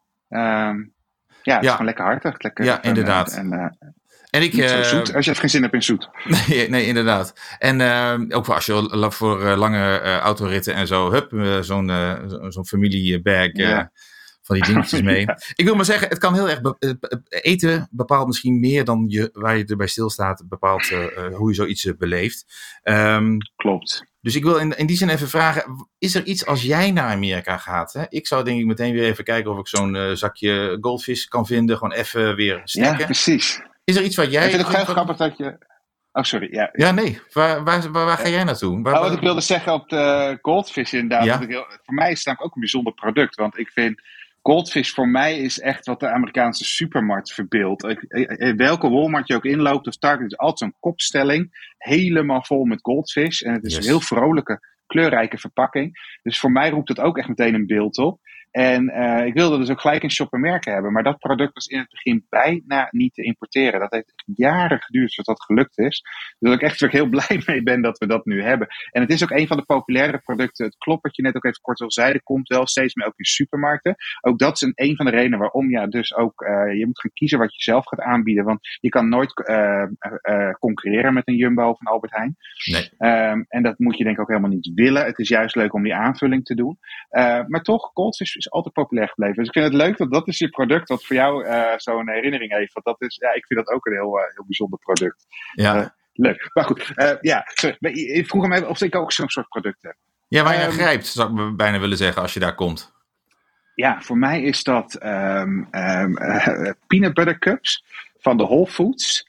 Het is gewoon lekker hartig. Lekker, inderdaad. En ik, niet zo zoet, als je geen zin hebt in zoet. Nee, inderdaad. En ook als je voor lange autoritten en zo, zo'n familiebag... van die dingetjes mee. Ik wil maar zeggen, het kan heel erg... eten bepaalt misschien meer dan waar je erbij stilstaat, bepaalt hoe je zoiets beleeft. Klopt. Dus ik wil in die zin even vragen, is er iets als jij naar Amerika gaat? Hè? Ik zou denk ik meteen weer even kijken of ik zo'n zakje Goldfish kan vinden. Gewoon even weer snacken. Ja, precies. Is er iets wat jij... Ik vind het heel grappig dat je... Oh, sorry. Ja, nee. Waar ga jij naartoe? Wat ik wilde zeggen op de Goldfish inderdaad. Voor mij is het namelijk ook een bijzonder product. Want ik vind... Goldfish voor mij is echt wat de Amerikaanse supermarkt verbeeldt. Welke Walmart je ook inloopt of Target, is altijd zo'n kopstelling. Helemaal vol met Goldfish. En het is een heel vrolijke, kleurrijke verpakking. Dus voor mij roept het ook echt meteen een beeld op. En ik wilde dus ook gelijk een shop en merken hebben. Maar dat product was in het begin bijna niet te importeren. Dat heeft jaren geduurd voordat dat gelukt is. Dus ik echt heel blij mee ben dat we dat nu hebben. En het is ook een van de populaire producten. Het klopt wat je net ook even kort al zei. Er komt wel steeds meer ook in supermarkten. Ook dat is een van de redenen waarom dus ook je moet gaan kiezen wat je zelf gaat aanbieden. Want je kan nooit concurreren met een Jumbo of een Albert Heijn. Nee. En dat moet je denk ik ook helemaal niet willen. Het is juist leuk om die aanvulling te doen. Maar toch, Goldfish is altijd populair gebleven. Dus ik vind het leuk dat is je product wat voor jou zo'n herinnering heeft. Want dat is, ik vind dat ook een heel bijzonder product. Ja. Leuk. Maar goed, ik vroeg me of ik ook zo'n soort product heb. Ja, waar je grijpt, zou ik bijna willen zeggen, als je daar komt. Ja, voor mij is dat peanut butter cups van de Whole Foods.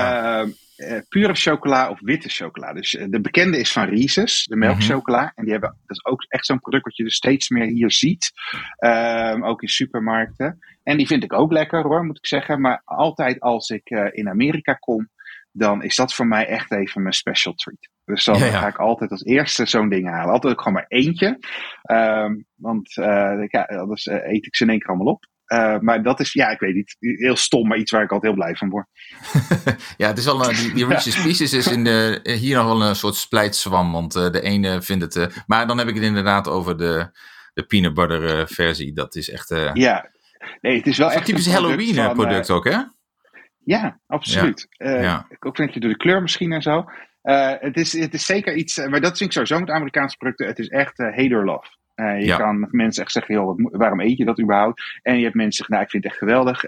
Pure chocola of witte chocola. Dus de bekende is van Reese's, de melkchocola. En die hebben, dat is ook echt zo'n product wat je dus steeds meer hier ziet. Ook in supermarkten. En die vind ik ook lekker hoor, moet ik zeggen. Maar altijd als ik in Amerika kom, dan is dat voor mij echt even mijn special treat. Dus dan ga ik altijd als eerste zo'n ding halen. Altijd ook gewoon maar eentje. Want anders eet ik ze in één keer allemaal op. Maar dat is, ik weet niet, heel stom, maar iets waar ik altijd heel blij van word. Ja, het is al die Reese's Pieces is hier nog wel een soort splijtswam, want de ene vindt het... maar dan heb ik het inderdaad over de peanut butter versie. Dat is echt... nee, het is wel echt een typisch Halloween product ook, hè? Ja, absoluut. Ook denk je door de kleur misschien en zo. Het is zeker iets, maar dat vind ik sowieso met Amerikaanse producten. Het is echt hate or love. Je kan met mensen echt zeggen, joh, waarom eet je dat überhaupt? En je hebt mensen zeggen, ik vind het echt geweldig.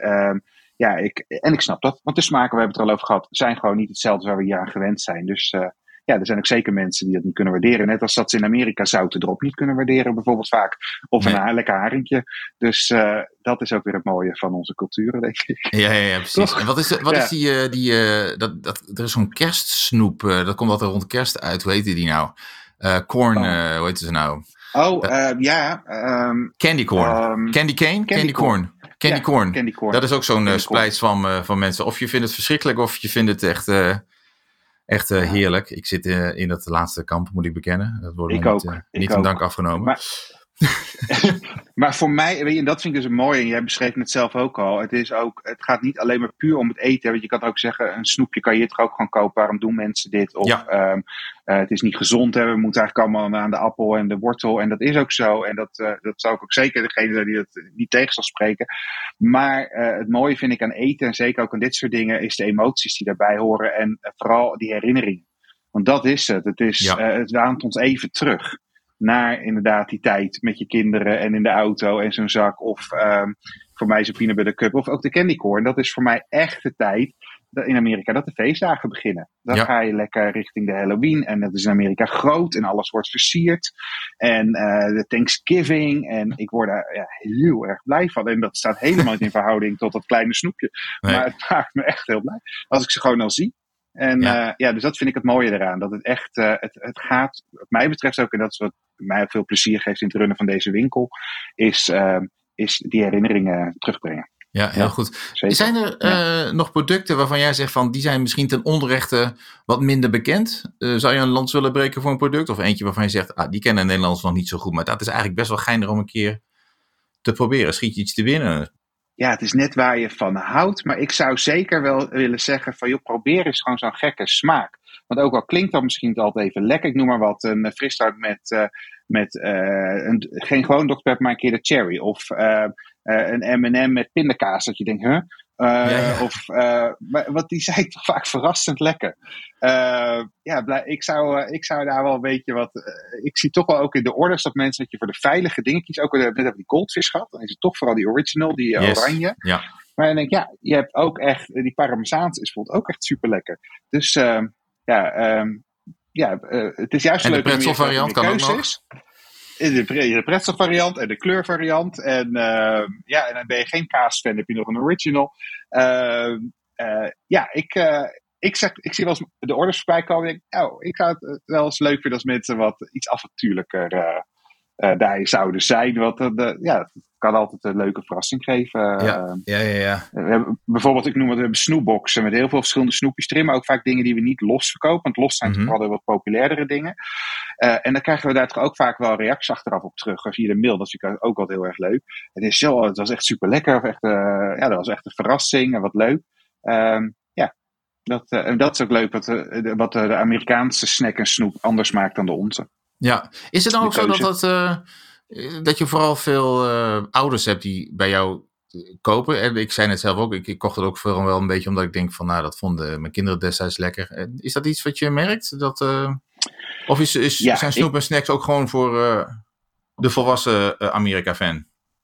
Ik snap dat. Want de smaken, we hebben het er al over gehad, zijn gewoon niet hetzelfde waar we hier aan gewend zijn. Dus er zijn ook zeker mensen die dat niet kunnen waarderen. Net als dat ze in Amerika zouten erop niet kunnen waarderen, bijvoorbeeld vaak. Of een lekker haringje. Dus dat is ook weer het mooie van onze culturen, denk ik. Ja, precies. Toch? En wat is er is zo'n kerstsnoep, dat komt altijd rond kerst uit. Hoe heet die nou? Corn, hoe heet ze nou? Candy corn. Candy cane? Candy corn. Candy corn. Dat is ook zo'n splijtswam van mensen. Of je vindt het verschrikkelijk, of je vindt het echt heerlijk. Ik zit in het laatste kamp, moet ik bekennen. Dat wordt niet in dank afgenomen. Maar voor mij, weet je, en dat vind ik dus mooi, en jij beschreef het zelf ook al. Het gaat niet alleen maar puur om het eten. Want je kan ook zeggen, een snoepje kan je toch ook gewoon kopen. Waarom doen mensen dit? Of het is niet gezond. We moeten eigenlijk allemaal aan de appel en de wortel. En dat is ook zo. En dat zou ik ook zeker degene zijn die dat niet tegen zal spreken. Maar het mooie vind ik aan eten, en zeker ook aan dit soort dingen, is de emoties die daarbij horen. En vooral die herinneringen. Want dat is het. Het waant ons even terug naar inderdaad die tijd met je kinderen en in de auto en zo'n zak. Of voor mij zo'n peanut butter cup. Of ook de candy corn. Dat is voor mij echt de tijd in Amerika dat de feestdagen beginnen. Dan ga je lekker richting de Halloween. En dat is in Amerika groot en alles wordt versierd. En de Thanksgiving. En ik word daar heel erg blij van. En dat staat helemaal niet in verhouding tot dat kleine snoepje. Nee. Maar het maakt me echt heel blij. Als ik ze gewoon al zie. En dus dat vind ik het mooie eraan. Dat het echt, het gaat, wat mij betreft ook, en dat is wat mij ook veel plezier geeft in het runnen van deze winkel, is die herinneringen terugbrengen. Ja, heel goed. Zeker. Zijn er nog producten waarvan jij zegt van, die zijn misschien ten onrechte wat minder bekend? Zou je een lans willen breken voor een product? Of eentje waarvan je zegt, die kennen Nederlanders nog niet zo goed, maar dat is eigenlijk best wel geinig om een keer te proberen. Schiet je iets te winnen? Ja, het is net waar je van houdt. Maar ik zou zeker wel willen zeggen van, joh, probeer eens gewoon zo'n gekke smaak. Want ook al klinkt dat misschien altijd even lekker. Ik noem maar wat, een frisdrank met geen gewoon Dr. Pepper, maar een keer de cherry. Of een M&M met pindakaas. Dat je denkt, want die zijn toch vaak verrassend lekker. Ik zou daar wel een beetje wat... ik zie toch wel ook in de orders dat mensen dat je voor de veilige dingetjes... Ook net hebben die Goldfish gehad. Dan is het toch vooral die original, die oranje. Ja. Maar dan denk ik, je hebt ook echt... Die Parmezaanse is bijvoorbeeld ook echt super lekker. Dus het is juist en leuk... En de pretzel variant kan ook nog. De pretzel variant en de kleur variant. En dan ben je geen kaasfan, heb je nog een original. Ik zie wel eens de orders voorbij komen. En ik zou het wel eens leuk vinden als mensen wat iets avontuurlijker daar zouden zijn. Want kan altijd een leuke verrassing geven. Ja. We hebben, bijvoorbeeld, ik noem het, we hebben snoepboxen met heel veel verschillende snoepjes erin, maar ook vaak dingen die we niet los verkopen. Want los zijn toch wel de wat populairdere dingen. En dan krijgen we daar toch ook vaak wel reacties achteraf op terug. Via de mail, dat is natuurlijk ook altijd heel erg leuk. Het was echt super lekker. Dat was echt een verrassing en wat leuk. Dat is ook leuk wat de Amerikaanse snack en snoep anders maakt dan de onze. Ja, is het dan ook zo dat je vooral veel ouders hebt die bij jou kopen? En ik zei net zelf ook, ik kocht het ook vooral wel een beetje omdat ik denk van, dat vonden mijn kinderen destijds lekker. Is dat iets wat je merkt? Of zijn snoep en snacks ook gewoon voor de volwassen Amerika-fan?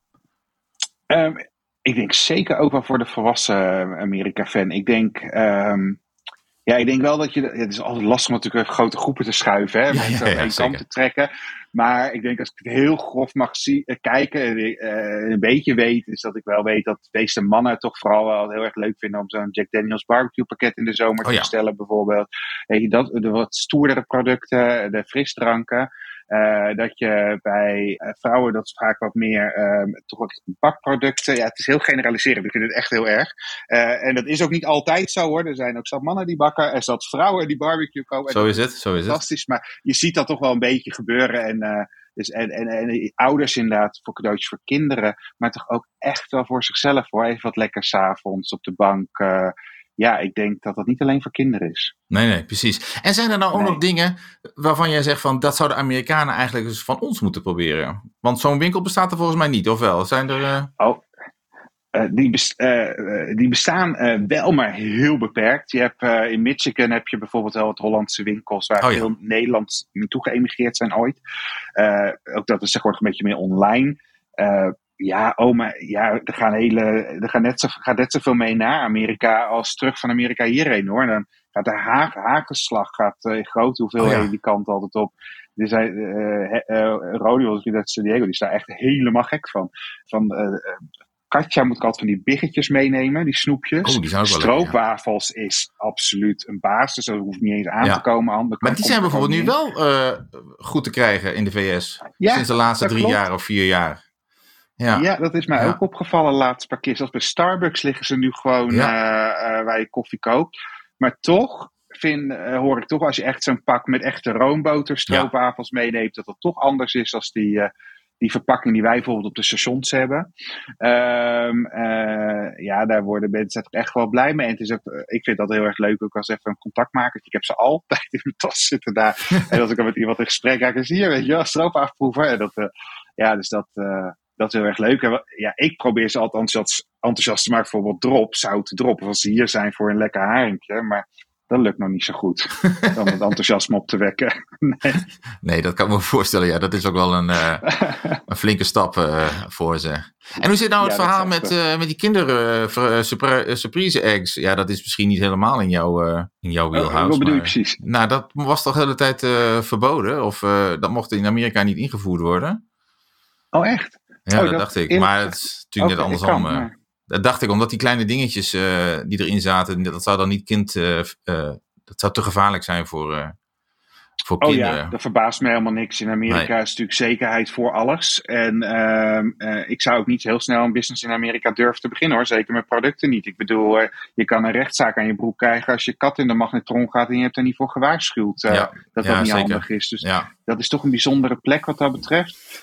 Ik denk zeker ook wel voor de volwassen Amerika-fan. Ik denk wel dat het is altijd lastig om natuurlijk grote groepen te schuiven. Hè, mensen aan één kant te trekken. Maar ik denk als ik het heel grof mag kijken, een beetje weet, is dat ik wel weet dat de meeste mannen toch vooral wel heel erg leuk vinden om zo'n Jack Daniels barbecue pakket in de zomer te bestellen bijvoorbeeld. De wat stoerdere producten, de frisdranken. Dat je bij vrouwen dat is vaak wat meer toch wat bakproducten. Ja, het is heel generaliserend. Ik vind het echt heel erg. En dat is ook niet altijd zo hoor. Er zijn ook zat mannen die bakken en zat vrouwen die barbecue kopen. Zo is het. Fantastisch. Maar je ziet dat toch wel een beetje gebeuren. En ouders inderdaad voor cadeautjes voor kinderen. Maar toch ook echt wel voor zichzelf hoor. Even wat lekker 's avonds op de bank. Ik denk dat dat niet alleen voor kinderen is. Nee, precies. En zijn er nou ook nog dingen waarvan jij zegt van dat zouden Amerikanen eigenlijk dus van ons moeten proberen? Want zo'n winkel bestaat er volgens mij niet, of wel? Zijn er... Die bestaan wel, maar heel beperkt. Je hebt, in Michigan heb je bijvoorbeeld wel wat Hollandse winkels waar veel Nederlands naartoe geëmigreerd zijn ooit. Ook dat is tegenwoordig een beetje meer online. Er gaat net zoveel mee naar Amerika als terug van Amerika hierheen hoor. En dan gaat de hagelslag in grote hoeveelheden die kant altijd op. Er zijn Rodeo uit San Diego, die is daar echt helemaal gek van. Katja moet ik altijd van die biggetjes meenemen, die snoepjes. Die zijn ook wel stroopwafels is absoluut een basis. Dat hoeft niet eens aan te komen. Maar die zijn bijvoorbeeld nu wel goed te krijgen in de VS. Sinds de laatste 3 jaar of 4 jaar. Ja, dat is mij ook opgevallen de laatste paar keer. Zelfs bij Starbucks liggen ze nu gewoon waar je koffie koopt. Maar toch hoor ik toch als je echt zo'n pak met echte roomboter stroopwafels meeneemt, dat toch anders is dan die verpakking die wij bijvoorbeeld op de stations hebben. Daar worden mensen toch echt wel blij mee. En het is ook, ik vind dat heel erg leuk ook als even een contactmaker. Ik heb ze altijd in mijn tas zitten daar. En als ik dan met iemand in gesprek ga, zie je, weet je wel, stroopwafel En dat is heel erg leuk. Ik probeer ze altijd enthousiast te maken voor wat zoute drop. Of als ze hier zijn voor een lekker haringje. Maar dat lukt nog niet zo goed. Om het enthousiasme op te wekken. Nee, dat kan ik me voorstellen. Ja, dat is ook wel een flinke stap voor ze. En hoe zit nou het verhaal met die kinderen surprise eggs? Ja, dat is misschien niet helemaal in jouw wheelhouse. Wat bedoel je precies? Nou, dat was toch de hele tijd verboden? Of dat mocht in Amerika niet ingevoerd worden? Oh, echt? Ja, dat dacht ik. Maar het is natuurlijk net andersom. Dat dacht ik, omdat die kleine dingetjes die erin zaten, dat zou dan niet dat zou te gevaarlijk zijn voor kinderen. Ja, dat verbaast me helemaal niks. In Amerika is natuurlijk zekerheid voor alles. En ik zou ook niet heel snel een business in Amerika durven te beginnen hoor. Zeker met producten niet. Ik bedoel, je kan een rechtszaak aan je broek krijgen als je kat in de magnetron gaat en je hebt er niet voor gewaarschuwd. Dat niet zeker. Handig is. Dus dat is toch een bijzondere plek wat dat betreft.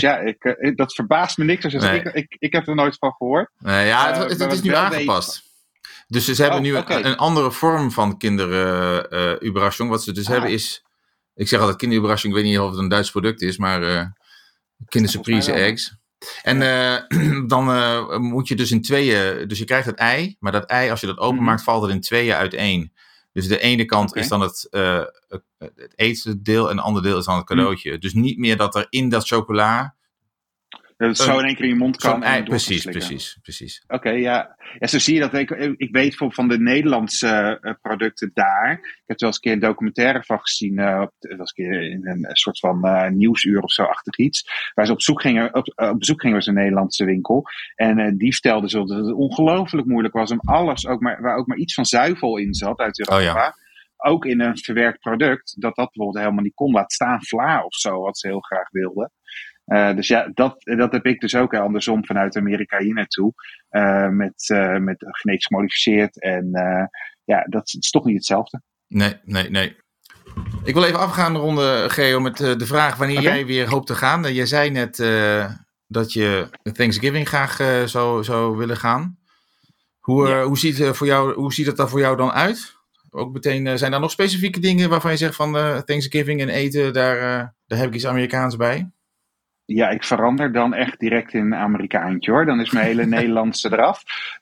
Dat verbaast me niks. Ik heb er nooit van gehoord. Het is nu aangepast. Dus ze hebben nu een andere vorm van kinderüberraschung. Wat ze dus hebben is, ik zeg altijd kinderüberraschung, ik weet niet of het een Duits product is, maar kindersurprise eggs. En dan moet je dus in tweeën, dus je krijgt het ei, maar dat ei, als je dat openmaakt, valt het in tweeën uiteen. Dus de ene kant is dan het etendeel en de andere deel is dan het cadeautje. Dus niet meer dat er in dat chocola... Dat het zo in één keer in je mond kan. Precies. Oké. Zo zie je dat. Ik weet bijvoorbeeld van de Nederlandse producten daar. Ik heb er wel eens een keer een documentaire van gezien. Dat was een keer in een soort van nieuwsuur of zo achtig iets. Waar ze op bezoek gingen was een Nederlandse winkel. En die vertelde zo dat het ongelooflijk moeilijk was om alles, waar ook maar iets van zuivel in zat uit Europa. Ook in een verwerkt product. Dat bijvoorbeeld helemaal niet kon. Laat staan vla of zo, wat ze heel graag wilden. Dus ja, dat heb ik dus ook andersom vanuit Amerika hier naartoe. Met genetisch gemodificeerd. En dat is toch niet hetzelfde. Nee. Ik wil even afgaan ronden, Geo, met de vraag wanneer jij weer hoopt te gaan. Jij zei net dat je Thanksgiving graag zou willen gaan. Hoe ziet het daar voor jou dan uit? Ook meteen, zijn daar nog specifieke dingen waarvan je zegt van Thanksgiving en eten, daar heb ik iets Amerikaans bij? Ja, ik verander dan echt direct in een Amerikaantje hoor. Dan is mijn hele Nederlandse eraf.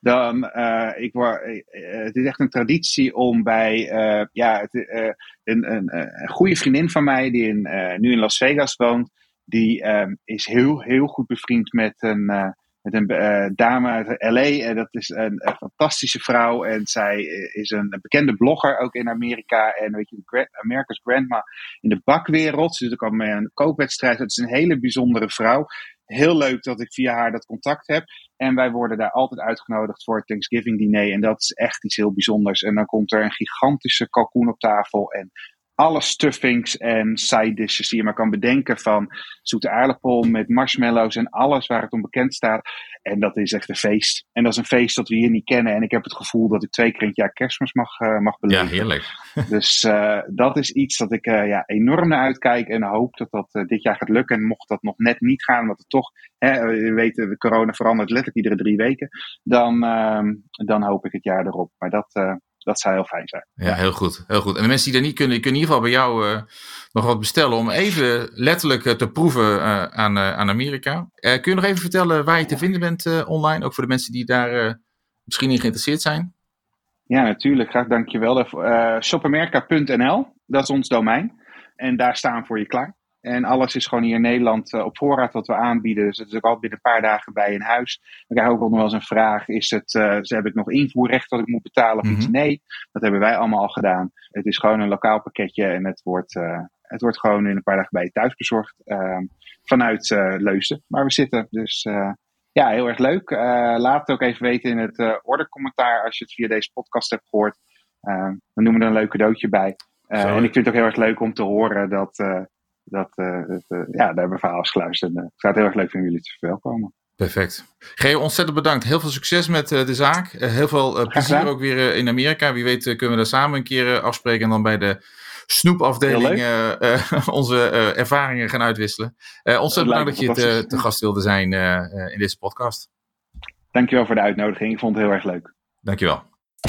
Het is echt een traditie om bij een goede vriendin van mij die nu in Las Vegas woont. Die is heel, heel goed bevriend met een dame uit LA. En dat is een fantastische vrouw. En zij is een bekende blogger ook in Amerika. En weet je, America's Grandma in de bakwereld. Ze doet ook al mee aan een kookwedstrijd. Het is een hele bijzondere vrouw. Heel leuk dat ik via haar dat contact heb. En wij worden daar altijd uitgenodigd voor het Thanksgiving diner. En dat is echt iets heel bijzonders. En dan komt er een gigantische kalkoen op tafel. En alle stuffings en side dishes die je maar kan bedenken. Van zoete aardappel met marshmallows en alles waar het om bekend staat. En dat is echt een feest. En dat is een feest dat we hier niet kennen. En ik heb het gevoel dat ik 2 keer in het jaar Kerstmis mag beleven. Ja, heerlijk. Dus dat is iets dat ik enorm naar uitkijk. En hoop dat dit jaar gaat lukken. En mocht dat nog net niet gaan, want het toch, we weten, de corona verandert letterlijk iedere 3 weken. Dan hoop ik het jaar erop. Maar dat zou heel fijn zijn. Ja, heel goed. Heel goed. En de mensen die dat niet kunnen, die kunnen in ieder geval bij jou nog wat bestellen om even letterlijk te proeven aan Amerika. Kun je nog even vertellen waar je te vinden bent online? Ook voor de mensen die daar misschien in geïnteresseerd zijn. Ja, natuurlijk. Graag, dankjewel. Shopamerika.nl, dat is ons domein. En daar staan we voor je klaar. En alles is gewoon hier in Nederland op voorraad wat we aanbieden. Dus het is ook altijd binnen een paar dagen bij in huis. We krijgen ook nog wel eens een vraag. Heb ik nog invoerrecht dat ik moet betalen of iets? Nee, dat hebben wij allemaal al gedaan. Het is gewoon een lokaal pakketje. En het wordt gewoon in een paar dagen bij je thuis bezorgd. Vanuit Leusden, waar we zitten. Dus heel erg leuk. Laat het ook even weten in het ordercommentaar als je het via deze podcast hebt gehoord. Dan doen we er een leuk cadeautje bij. En ik vind het ook heel erg leuk om te horen daar hebben we verhaal geluisterd. Ik zou het heel erg leuk vinden jullie te verwelkomen. Perfect. Geo, ontzettend bedankt. Heel veel succes met de zaak. Heel veel plezier ook weer in Amerika. Wie weet kunnen we daar samen een keer afspreken en dan bij de snoepafdeling onze ervaringen gaan uitwisselen. Ontzettend bedankt dat je te gast wilde zijn in deze podcast. Dankjewel voor de uitnodiging. Ik vond het heel erg leuk. Dankjewel.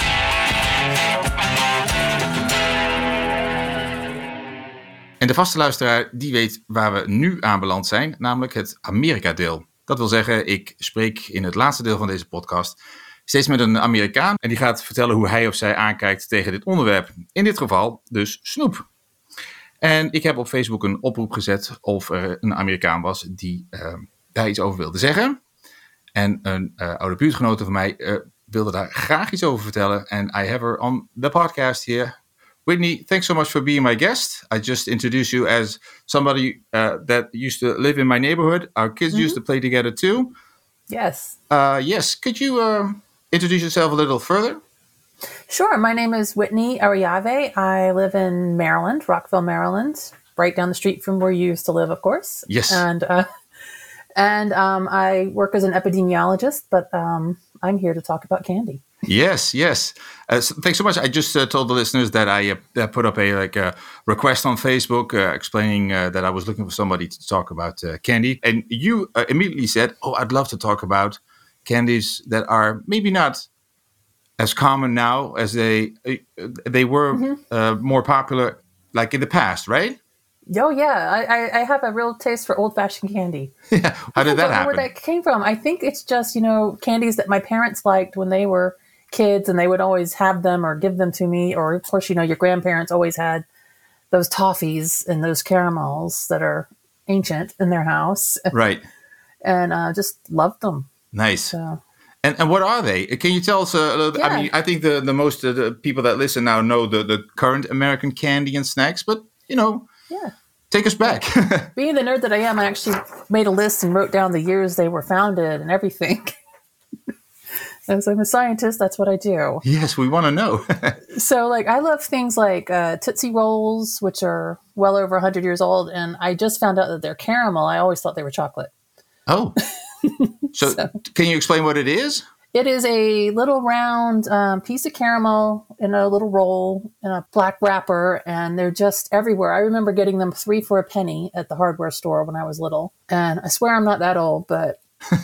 En de vaste luisteraar die weet waar we nu aanbeland zijn, namelijk het Amerika-deel. Dat wil zeggen, ik spreek in het laatste deel van deze podcast steeds met een Amerikaan en die gaat vertellen hoe hij of zij aankijkt tegen dit onderwerp. In dit geval dus snoep. En ik heb op Facebook een oproep gezet of er een Amerikaan was die daar iets over wilde zeggen. En een oude buurtgenote van mij wilde daar graag iets over vertellen. En I have her on the podcast here. Whitney, thanks so much for being my guest. I just introduced you as somebody that used to live in my neighborhood. Our kids used to play together too. Yes. Yes. Could you introduce yourself a little further? Sure. My name is Whitney Ariave. I live in Maryland, Rockville, Maryland, right down the street from where you used to live, of course. Yes. And I work as an epidemiologist, but I'm here to talk about candy. Yes. Thanks so much. I just told the listeners that I put up a request on Facebook explaining that I was looking for somebody to talk about candy. And you immediately said, I'd love to talk about candies that are maybe not as common now as they were more popular like in the past, right? Oh, yeah. I have a real taste for old-fashioned candy. Yeah. How did that happen? I don't know where that came from. I think it's just, candies that my parents liked when they were kids, and they would always have them or give them to me. Or, of course, your grandparents always had those toffees and those caramels that are ancient in their house. Right. And just loved them. Nice. So. And what are they? Can you tell us a little bit? Yeah. I mean, I think the most the people that listen now know the current American candy and snacks, but, Yeah. take us back. Being the nerd that I am, I actually made a list and wrote down the years they were founded and everything. As I'm a scientist, that's what I do. Yes, we want to know. So, like, I love things like Tootsie Rolls, which are well over 100 years old, and I just found out that they're caramel. I always thought they were chocolate. Oh. So, can you explain what it is? It is a little round piece of caramel in a little roll in a black wrapper, and they're just everywhere. I remember getting them 3 for a penny at the hardware store when I was little. And I swear I'm not that old, but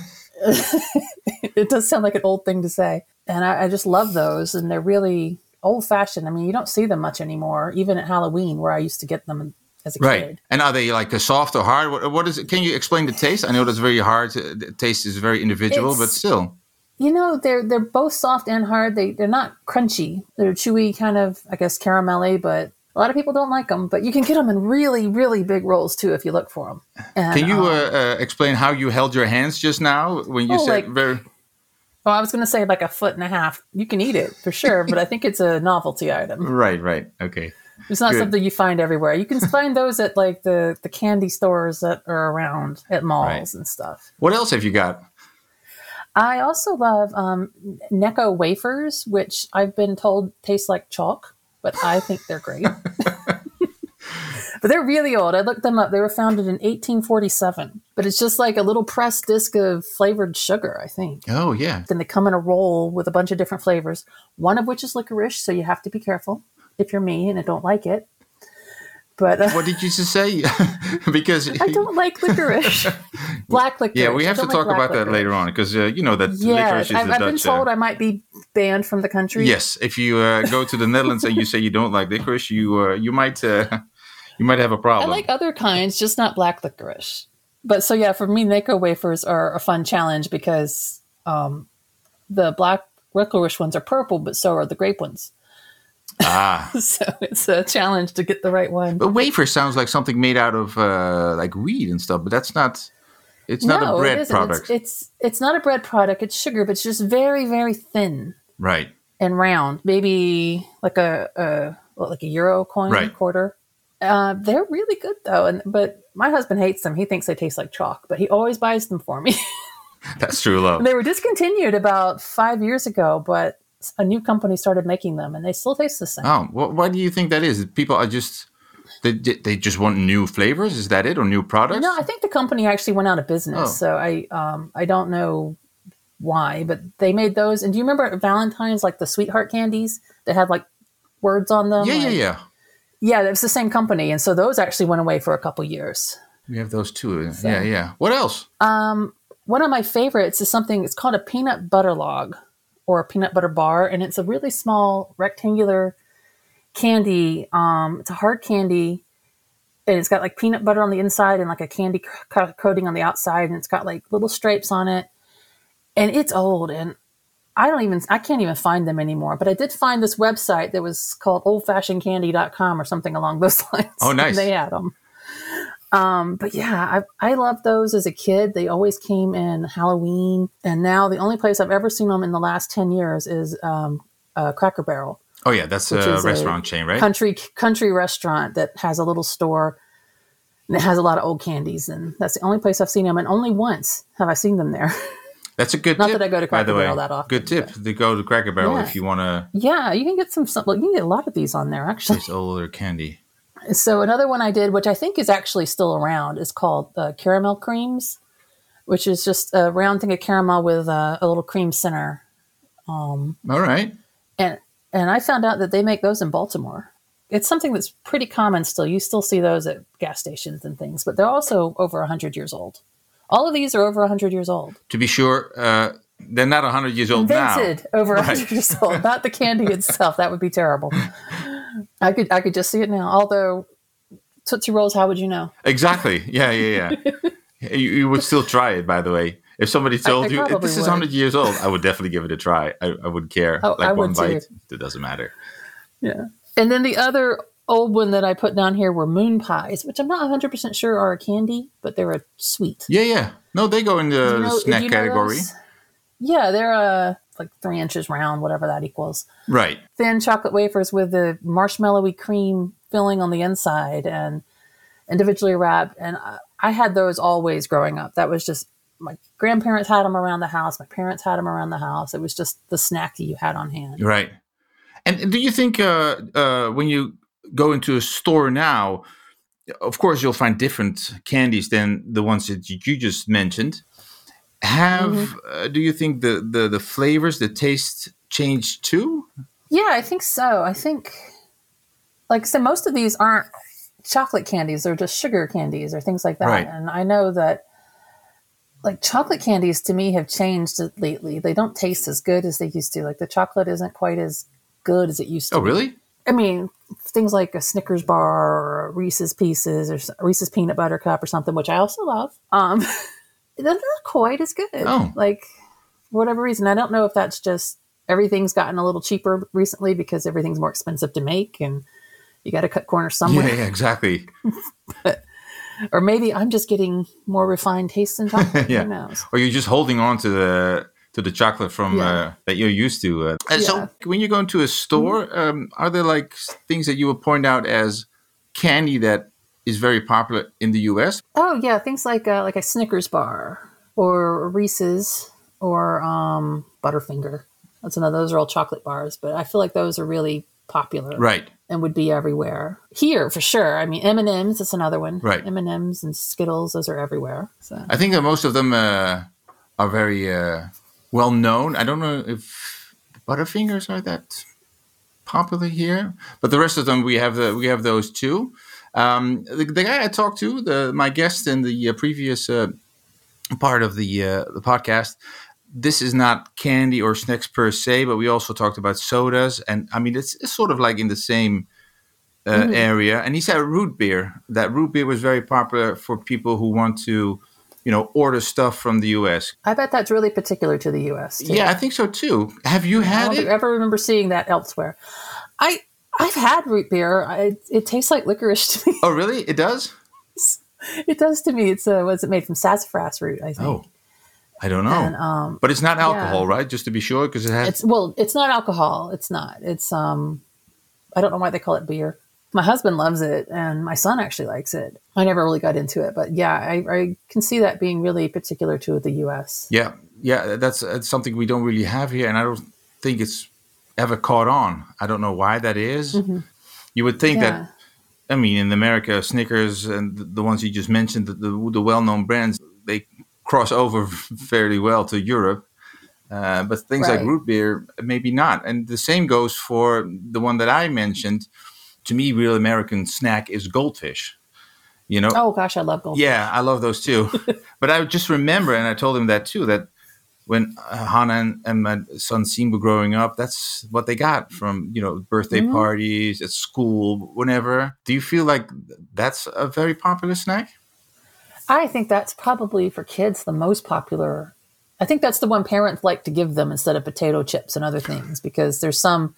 it does sound like an old thing to say. And I just love those, and they're really old-fashioned. I mean, you don't see them much anymore, even at Halloween, where I used to get them as a kid. And are they like soft or hard? What is it? Can you explain the taste? I know that's very hard. The taste is very individual, but still. You know, they're both soft and hard. They're not crunchy. They're chewy, kind of, I guess, caramelly, but a lot of people don't like them. But you can get them in really, really big rolls, too, if you look for them. And, can you explain how you held your hands just now when you said very... Well, I was going to say like 1.5 feet. You can eat it, for sure, but I think it's a novelty item. Right. Okay. It's not something you find everywhere. You can find those at like the candy stores that are around at malls and stuff. What else have you got? I also love Necco wafers, which I've been told taste like chalk, but I think they're great. But they're really old. I looked them up. They were founded in 1847. But it's just like a little pressed disc of flavored sugar, I think. Oh, yeah. Then they come in a roll with a bunch of different flavors, one of which is licorice, so you have to be careful if you're me and I don't like it. But what did you just say? Because I don't like licorice. Black licorice. Yeah, we have to talk about that later on because you know that licorice is I've been told I might be banned from the country. Yes, if you go to the Netherlands and you say you don't like licorice, you might have a problem. I like other kinds, just not black licorice. But so yeah, for me, Necco wafers are a fun challenge because the black licorice ones are purple, but so are the grape ones. So it's a challenge to get the right one. But wafer sounds like something made out of like wheat and stuff, but that's not. It's not a bread product. It's not a bread product. It's sugar, but it's just very, very thin. Right. And round, maybe like a euro coin, quarter. They're really good though, but my husband hates them. He thinks they taste like chalk, but he always buys them for me. That's true love. They were discontinued about 5 years ago, but a new company started making them, and they still taste the same. Oh, why do you think that is? People are just they just want new flavors. Is that it, or new products? No, I think the company actually went out of business. So I don't know why, but they made those. And do you remember at Valentine's, like the sweetheart candies that had like words on them? Yeah. Yeah, it was the same company, and so those actually went away for a couple years. We have those too. So, yeah. What else? One of my favorites is something. It's called a peanut butter log, or a peanut butter bar, and it's a really small rectangular candy. It's a hard candy, and it's got like peanut butter on the inside and like a candy coating on the outside, and it's got like little stripes on it. And it's old, and I can't even find them anymore. But I did find this website that was called oldfashionedcandy.com or something along those lines. Oh, nice. They had them. But yeah, I loved those as a kid. They always came in Halloween. And now the only place I've ever seen them in the last 10 years is Cracker Barrel. Oh, yeah. That's a restaurant chain, right? Country restaurant that has a little store. And it has a lot of old candies. And that's the only place I've seen them. And only once have I seen them there. That's a good tip. Not that I go to Cracker Barrel that often. Good tip to go to Cracker Barrel if you want to. Yeah, you can get you can get a lot of these on there, actually. It's older candy. So another one I did, which I think is actually still around, is called Caramel Creams, which is just a round thing of caramel with a little cream center. All right. And I found out that they make those in Baltimore. It's something that's pretty common still. You still see those at gas stations and things, but they're also over 100 years old. All of these are over 100 years old. To be sure, they're not 100 years old now. Invented over 100 years old, not the candy itself. That would be terrible. I could just see it now. Although Tootsie Rolls, how would you know? Exactly. Yeah. you would still try it, by the way. If somebody told you this is 100 years old, I would definitely give it a try. I wouldn't care. I would bite, too. It doesn't matter. Yeah. And then the other old one that I put down here were moon pies, which I'm not 100% sure are a candy, but they're a sweet. Yeah. No, they go in the snack category. Yeah, they're like 3 inches round, whatever that equals. Right. Thin chocolate wafers with the marshmallowy cream filling on the inside and individually wrapped. And I had those always growing up. That was just my grandparents had them around the house. My parents had them around the house. It was just the snack that you had on hand. Right. And do you think when you go into a store now, of course, you'll find different candies than the ones that you just mentioned. Do you think the flavors, the taste changed too? Yeah, I think so. I think, like I said, most of these aren't chocolate candies. They're just sugar candies or things like that. Right. And I know that, like, chocolate candies to me have changed lately. They don't taste as good as they used to. Like, the chocolate isn't quite as good as it used to. Oh, really? I mean, things like a Snickers bar or a Reese's Pieces or Reese's Peanut Butter Cup or something, which I also love. They're not quite as good. Oh. Like, for whatever reason. I don't know if that's just everything's gotten a little cheaper recently because everything's more expensive to make and you got to cut corners somewhere. Yeah, exactly. Or maybe I'm just getting more refined tastes in chocolate. Yeah. Who knows? Or you're just holding on to the chocolate from that you're used to. So when you go into a store, are there like things that you would point out as candy that is very popular in the U.S.? Oh yeah, things like a Snickers bar or Reese's or Butterfinger. That's another. Those are all chocolate bars, but I feel like those are really popular, Right? And would be everywhere here for sure. I mean, M&Ms is another one, right? M&Ms and Skittles, those are everywhere. So I think that most of them are very well known. I don't know if Butterfingers are that popular here, but the rest of them we have those too. The guy I talked to, my guest in the previous part of the podcast, this is not candy or snacks per se, but we also talked about sodas, and I mean it's sort of like in the same area. And he said root beer. That root beer was very popular for people who want to, order stuff from the U.S. I bet that's really particular to the U.S. too. Yeah, I think so too. Have you had it? I don't ever remember seeing that elsewhere. I've had root beer. It tastes like licorice to me. Oh, really? It does? It does to me. It's what's it made from sassafras root, I think. Oh, I don't know. And, but it's not alcohol, right? Just to be sure, because it has. It's not alcohol. It's not. It's I don't know why they call it beer. My husband loves it, and my son actually likes it. I never really got into it, but yeah, I can see that being really particular to the U.S. Yeah, that's something we don't really have here, and I don't think it's ever caught on. I don't know why that is. Mm-hmm. You would think that, I mean, in America, Snickers and the ones you just mentioned, the well-known brands, they cross over fairly well to Europe. But things like root beer, maybe not. And the same goes for the one that I mentioned. To me, real American snack is Goldfish. Oh, gosh, I love Goldfish. Yeah, I love those too. But I just remember, and I told him that too, that when Hannah and my son Siem were growing up, that's what they got from, birthday parties, at school, whenever. Do you feel like that's a very popular snack? I think that's probably for kids the most popular. I think that's the one parents like to give them instead of potato chips and other things, because there's some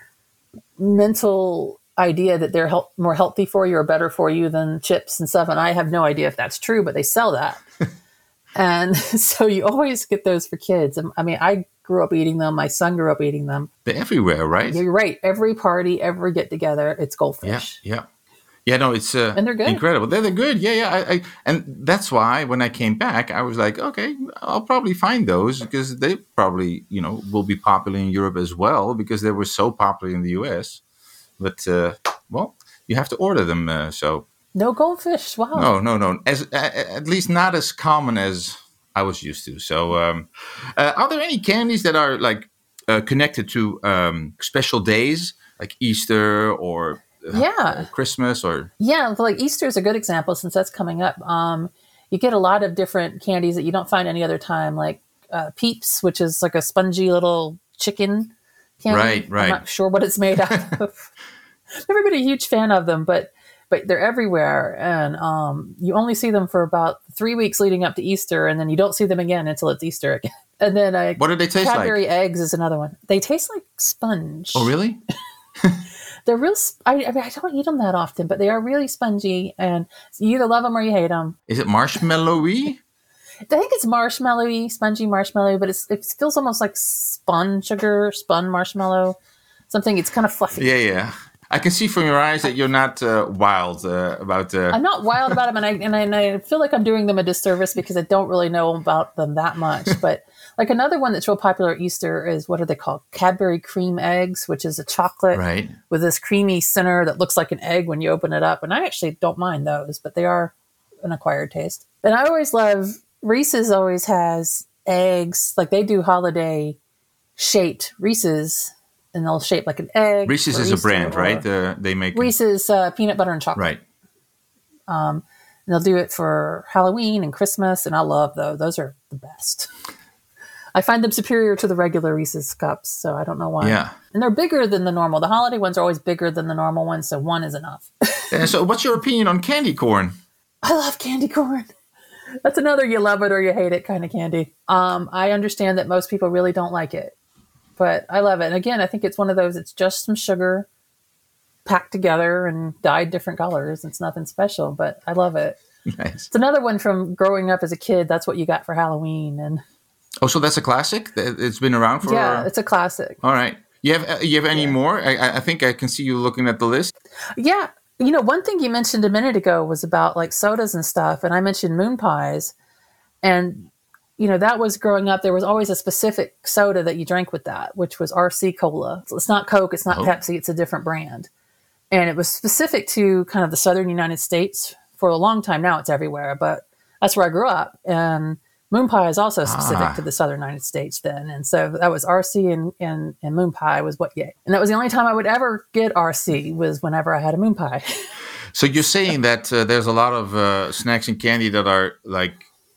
mental idea that they're more healthy for you or better for you than chips and stuff. And I have no idea if that's true, but they sell that. And so you always get those for kids. I mean, I grew up eating them. My son grew up eating them. They're everywhere, right? You're right. Every party, every get together, it's Goldfish. Yeah. Yeah, no, it's and they're good. Incredible. They're good. Yeah. And that's why when I came back, I was like, okay, I'll probably find those because they probably, will be popular in Europe as well because they were so popular in the US. But, you have to order them. So no Goldfish. Wow. No. At least not as common as I was used to. So are there any candies that are like connected to special days like Easter or Christmas or like Easter is a good example since that's coming up. You get a lot of different candies that you don't find any other time, like Peeps, which is like a spongy little chicken candy. Right. I'm not sure what it's made out of. Never been a huge fan of them, but they're everywhere, and you only see them for about 3 weeks leading up to Easter, and then you don't see them again until it's Easter again. And then what do they taste like? Cadbury eggs is another one. They taste like sponge. Oh, really? They're real. I don't eat them that often, but they are really spongy, and you either love them or you hate them. Is it marshmallowy? I think it's marshmallowy, spongy marshmallow, but it feels almost like spun marshmallow. Something. It's kind of fluffy. Yeah. I can see from your eyes that you're not wild about. I'm not wild about them, and I feel like I'm doing them a disservice because I don't really know about them that much. But like another one that's real popular at Easter is, what are they called? Cadbury cream eggs, which is a chocolate Right. with this creamy center that looks like an egg when you open it up. And I actually don't mind those, but they are an acquired taste. And I always love, Reese's always has eggs, like they do holiday shaped Reese's, and they'll shape like an egg. Reese's is a brand, right? They make Reese's peanut butter and chocolate. Right. And they'll do it for Halloween and Christmas, and I love those. Those are the best. I find them superior to the regular Reese's cups, so I don't know why. Yeah. And they're bigger than the normal. The holiday ones are always bigger than the normal ones, so one is enough. And so, what's your opinion on candy corn? I love candy corn. That's another you love it or you hate it kind of candy. I understand that most people really don't like it, but I love it. And again, I think it's one of those, it's just some sugar packed together and dyed different colors. It's nothing special, but I love it. Nice. It's another one from growing up as a kid. That's what you got for Halloween. And Oh, so that's a classic? It's been around for... yeah, it's a classic. All right. You have any more? I think I can see you looking at the list. Yeah. You know, one thing you mentioned a minute ago was about like sodas and stuff. And I mentioned moon pies. And, you know, that was growing up. There was always a specific soda that you drank with that, which was RC Cola. So it's not Coke. It's not Pepsi. It's a different brand. And it was specific to kind of the southern United States for a long time. Now it's everywhere. But that's where I grew up. And moon pie is also specific to the southern United States then. And so that was RC and moon pie was what you ate. And that was the only time I would ever get RC was whenever I had a moon pie. So you're saying that there's a lot of snacks and candy that are like,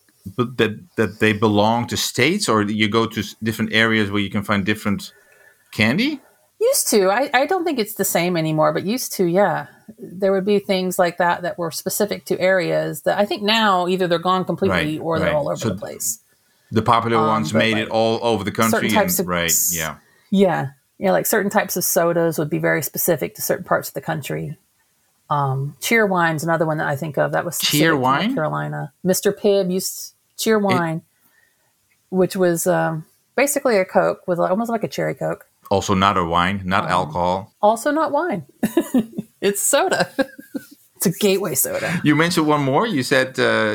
that they belong to states, or you go to different areas where you can find different candy? Used to. I don't think it's the same anymore, but used to, yeah. There would be things like that were specific to areas that I think now either they're gone completely or they're all over the place. The popular ones made it all over the country. Yeah. Yeah, like certain types of sodas would be very specific to certain parts of the country. Cheerwine's another one that I think of. That was specific to North Carolina. Mr. Pibb used Cheerwine, which was basically a Coke with almost like a cherry Coke. Also not a wine, not alcohol. Also not wine. It's soda. It's a gateway soda. You mentioned one more. You said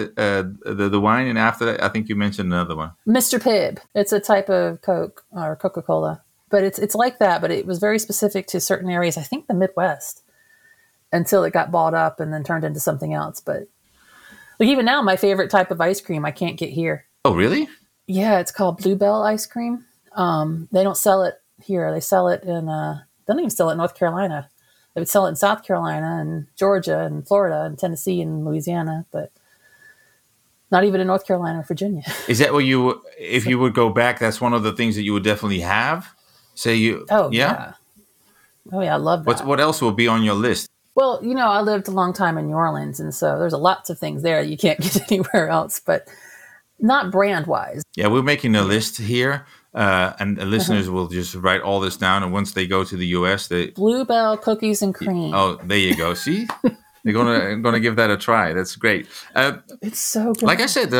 the wine, and after that, I think you mentioned another one. Mr. Pibb. It's a type of Coke or Coca-Cola. But it's like that, but it was very specific to certain areas, I think the Midwest, until it got bought up and then turned into something else. But like even now, my favorite type of ice cream I can't get here. Oh, really? Yeah, it's called Bluebell ice cream. They don't sell it here. They sell it in, they don't even sell it in North Carolina. They would sell it in South Carolina and Georgia and Florida and Tennessee and Louisiana, but not even in North Carolina or Virginia. Is that what if you would go back, that's one of the things that you would definitely have? Oh, yeah. Oh, yeah, I love that. What else will be on your list? Well, you know, I lived a long time in New Orleans, and so there's lots of things there you can't get anywhere else, but not brand-wise. Yeah, we're making a list here. And the listeners will just write all this down, and once they go to the US, Bluebell cookies and cream. Oh, there you go. See, they're gonna give that a try. That's great. It's so good. Like I said,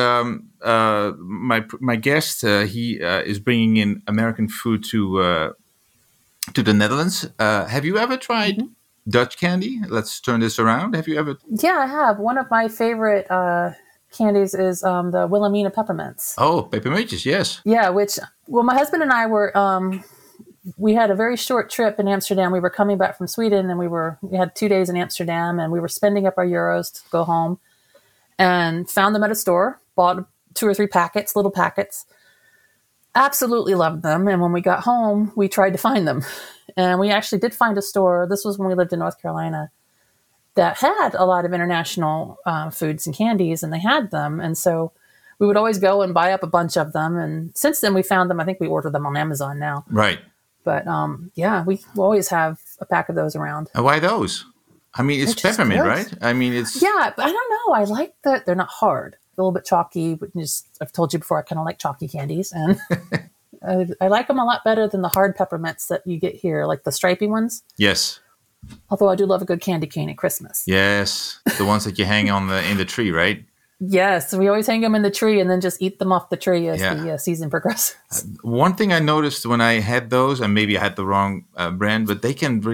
my guest he is bringing in American food to the Netherlands. Have you ever tried Dutch candy? Let's turn this around. Have you ever? Yeah, I have. One of my favorite candies is the Wilhelmina peppermints. Oh, peppermintjes, yes. Yeah, my husband and I were, we had a very short trip in Amsterdam. We were coming back from Sweden, and we had 2 days in Amsterdam, and we were spending up our euros to go home, and found them at a store, bought 2 or 3 packets, little packets, absolutely loved them. And when we got home, we tried to find them, and we actually did find a store. This was when we lived in North Carolina, that had a lot of international foods and candies, and they had them. And so we would always go and buy up a bunch of them. And since then we found them. I think we order them on Amazon now. Right. But yeah, we always have a pack of those around. And why those? I mean, it's peppermint, right? I mean, it's... Yeah, but I don't know. I like that they're not hard. A little bit chalky, but I've told you before, I kind of like chalky candies. And I like them a lot better than the hard peppermints that you get here, like the stripy ones. Yes. Although I do love a good candy cane at Christmas. Yes, the ones that you hang in the tree, right? Yes, we always hang them in the tree and then just eat them off the tree as the season progresses. One thing I noticed when I had those, and maybe I had the wrong brand, but they can really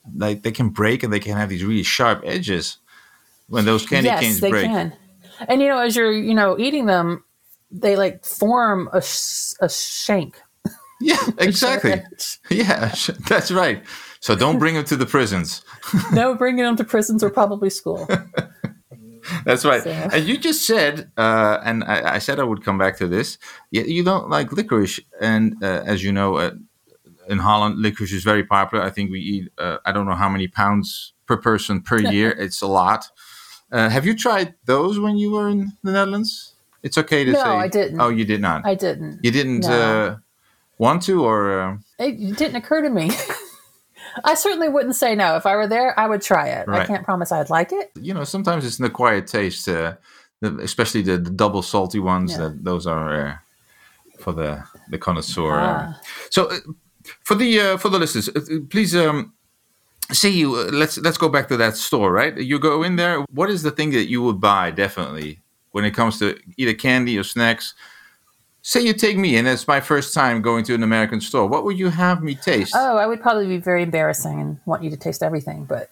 like they can break and they can have these really sharp edges when those candy canes they break. can. And as you're eating them, they like form a shank. Yeah, exactly. Yeah, that's right. So don't bring them to the prisons. No, bringing them to prisons or probably school. That's right. So. And you just said, and I said I would come back to this, you don't like licorice. And as you know, in Holland, licorice is very popular. I think we eat, I don't know how many pounds per person per year. It's a lot. Have you tried those when you were in the Netherlands? It's okay to say. No, I didn't. Oh, you did not? I didn't. You didn't want to, or? It didn't occur to me. I certainly wouldn't say no. If I were there, I would try it. Right. I can't promise I'd like it. Sometimes it's an acquired taste, especially the double salty ones. Yeah. Those are for the connoisseur. So for the listeners, please say let's go back to that store, right? You go in there. What is the thing that you would buy definitely when it comes to either candy or snacks? Say you take me, and it's my first time going to an American store. What would you have me taste? Oh, I would probably be very embarrassing and want you to taste everything. But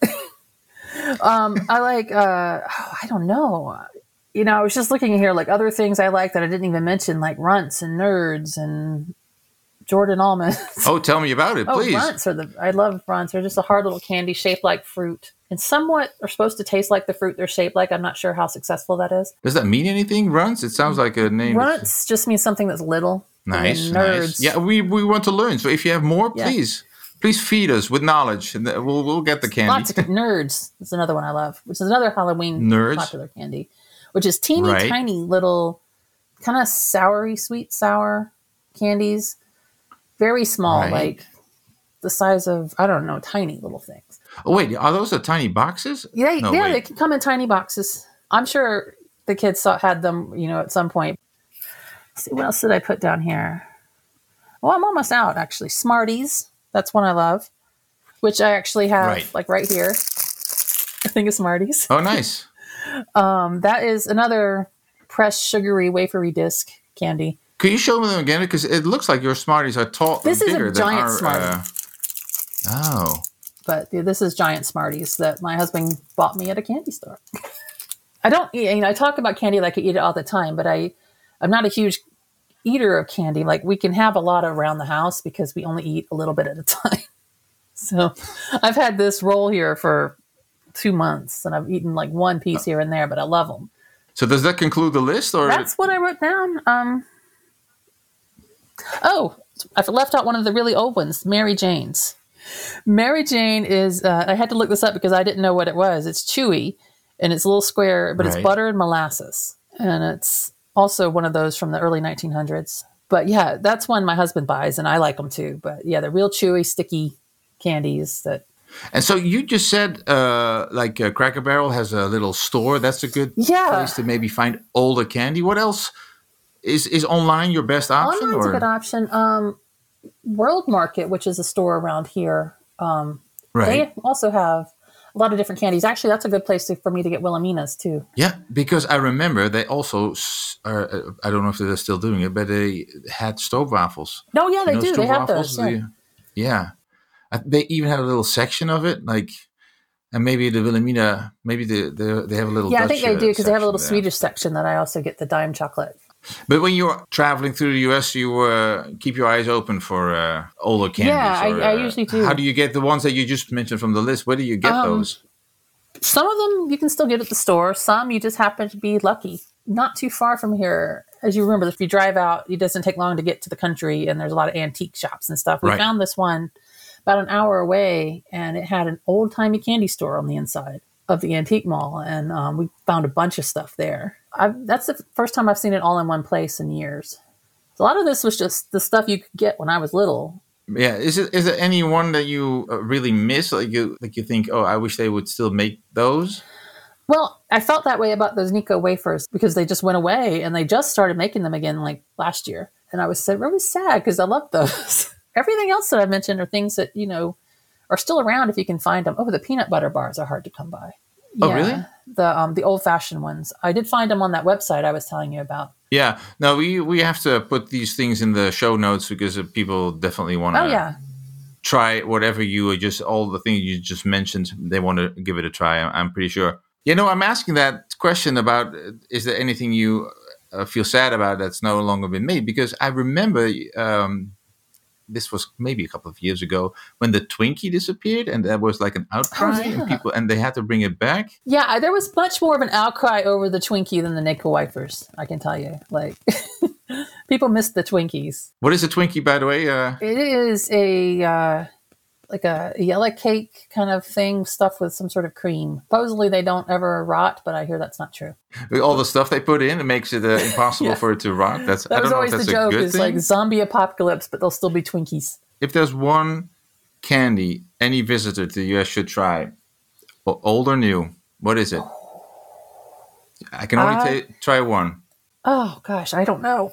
I like, I don't know. I was just looking here, like other things I like that I didn't even mention, like Runts and Nerds and Jordan almonds. Oh, tell me about it, please. Runts I love Runts. They're just a hard little candy shaped like fruit. And somewhat are supposed to taste like the fruit they're shaped like. I'm not sure how successful that is. Does that mean anything, Runts? It sounds like a name. Runts just means something that's little. Nice, Nerds. Nice. Yeah, we want to learn. So if you have more, please feed us with knowledge, and we'll get the candy. Lots of Nerds. That's another one I love, which is another Halloween popular candy, which is teeny tiny little, kind of sweet sour candies. Very small, like the size of, I don't know, tiny little things. Oh, wait, are those the tiny boxes? Yeah, they can come in tiny boxes. I'm sure the kids had them, at some point. Let's see, what else did I put down here? Well, I'm almost out, actually. Smarties. That's one I love, which I actually have, like right here. I think it's Smarties. Oh, nice. That is another pressed, sugary, wafery disc candy. Could you show me them again? Because it looks like your Smarties are This bigger is a giant than Smartie. Oh. But this is giant Smarties that my husband bought me at a candy store. I don't eat, I talk about candy like I eat it all the time, but I'm not a huge eater of candy. Like we can have a lot around the house because we only eat a little bit at a time. So I've had this roll here for 2 months and I've eaten like one piece here and there, but I love them. So does that conclude the list? Or that's what I wrote down. I left out one of the really old ones, Mary Jane's. Mary Jane is, I had to look this up because I didn't know what it was. It's chewy and it's a little square, but it's butter and molasses. And it's also one of those from the early 1900s. But yeah, that's one my husband buys and I like them too. But yeah, they're real chewy, sticky candies that. And so you just said Cracker Barrel has a little store. That's a good place to maybe find older candy. What else? Is online your best option? Online's a good option. World Market, which is a store around here, they also have a lot of different candies. Actually, that's a good place for me to get Wilhelmina's too. Yeah, because I remember they also, I don't know if they're still doing it, but they had stroopwafels. No, yeah, they do. They have those. Yeah. They even have a little section of it, and maybe the Wilhelmina, maybe they have a little. Yeah, Dutch, I think they do because they have a little there. Swedish section that I also get the dime chocolate. But when you're traveling through the US, you keep your eyes open for older candies. Yeah, I usually do. How do you get the ones that you just mentioned from the list? Where do you get those? Some of them you can still get at the store. Some you just happen to be lucky. Not too far from here. As you remember, if you drive out, it doesn't take long to get to the country, and there's a lot of antique shops and stuff. We found this one about an hour away, and it had an old-timey candy store on the inside of the antique mall, and we found a bunch of stuff there. That's the first time I've seen it all in one place in years. So a lot of this was just the stuff you could get when I was little. Yeah, is there any one that you really miss? Like you think, oh, I wish they would still make those? Well, I felt that way about those Nico wafers because they just went away, and they just started making them again like last year. And I was really sad because I loved those. Everything else that I mentioned are things that, are still around if you can find them. Oh, the peanut butter bars are hard to come by. Oh, really? The old-fashioned ones. I did find them on that website I was telling you about. Yeah. No, we have to put these things in the show notes because people definitely want to try whatever all the things you just mentioned. They want to give it a try. I'm pretty sure. I'm asking that question about, is there anything you feel sad about that's no longer been made? Because I remember this was maybe a couple of years ago when the Twinkie disappeared, and there was like an outcry, and they had to bring it back. Yeah, there was much more of an outcry over the Twinkie than the nickel wafers, I can tell you. Like, people missed the Twinkies. What is a Twinkie, by the way? It is a yellow cake kind of thing stuffed with some sort of cream. Supposedly they don't ever rot, but I hear that's not true. With all the stuff they put in, it makes it impossible for it to rot. That was always the joke. It's like zombie apocalypse, but there'll still be Twinkies. If there's one candy any visitor to the US should try, old or new, what is it? I can only try one. Oh gosh, I don't know.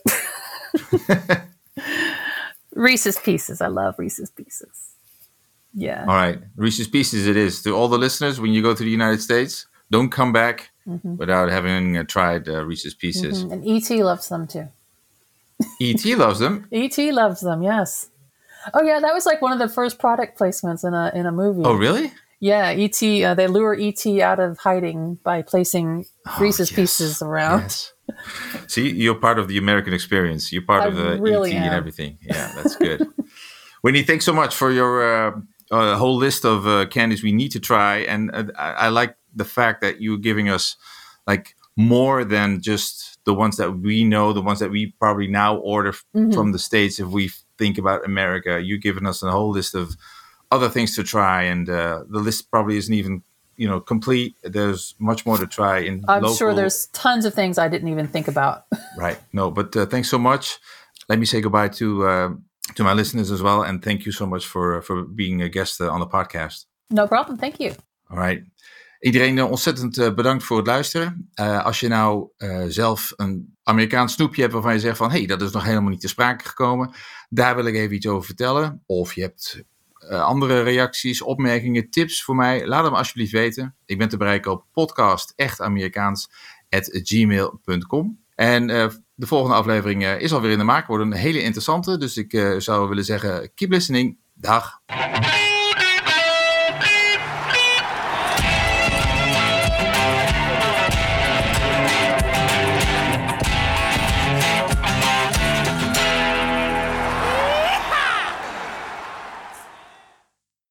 Reese's Pieces. I love Reese's Pieces. Yeah. All right. Reese's Pieces it is. To all the listeners, when you go to the United States, don't come back without having tried Reese's Pieces. And E.T. loves them too. E.T. loves them? E.T. loves them, yes. Oh yeah, that was like one of the first product placements in a movie. Oh really? Yeah, E.T. They lure E.T. out of hiding by placing Reese's Pieces around. Yes. See, you're part of the American experience. You're part of the really E.T. and everything. Yeah, that's good. Winnie, thanks so much for your whole list of candies we need to try. And I like the fact that you're giving us like more than just the ones that we know, the ones that we probably now order from the States. If we think about America, you're giving us a whole list of other things to try. And the list probably isn't even, complete. There's much more to try. I'm sure there's tons of things I didn't even think about. Right. No, but thanks so much. Let me say goodbye to my listeners as well. And thank you so much for being a guest on the podcast. No problem. Thank you. All right. Iedereen ontzettend bedankt voor het luisteren. Als je nou zelf een Amerikaans snoepje hebt waarvan je zegt van, hey, dat is nog helemaal niet te sprake gekomen. Daar wil ik even iets over vertellen. Of je hebt andere reacties, opmerkingen, tips voor mij. Laat hem alsjeblieft weten. Ik ben te bereiken op podcastechtamerikaans@gmail.com. En de volgende aflevering is alweer in de maak. Wordt een hele interessante. Dus ik zou willen zeggen, keep listening. Dag.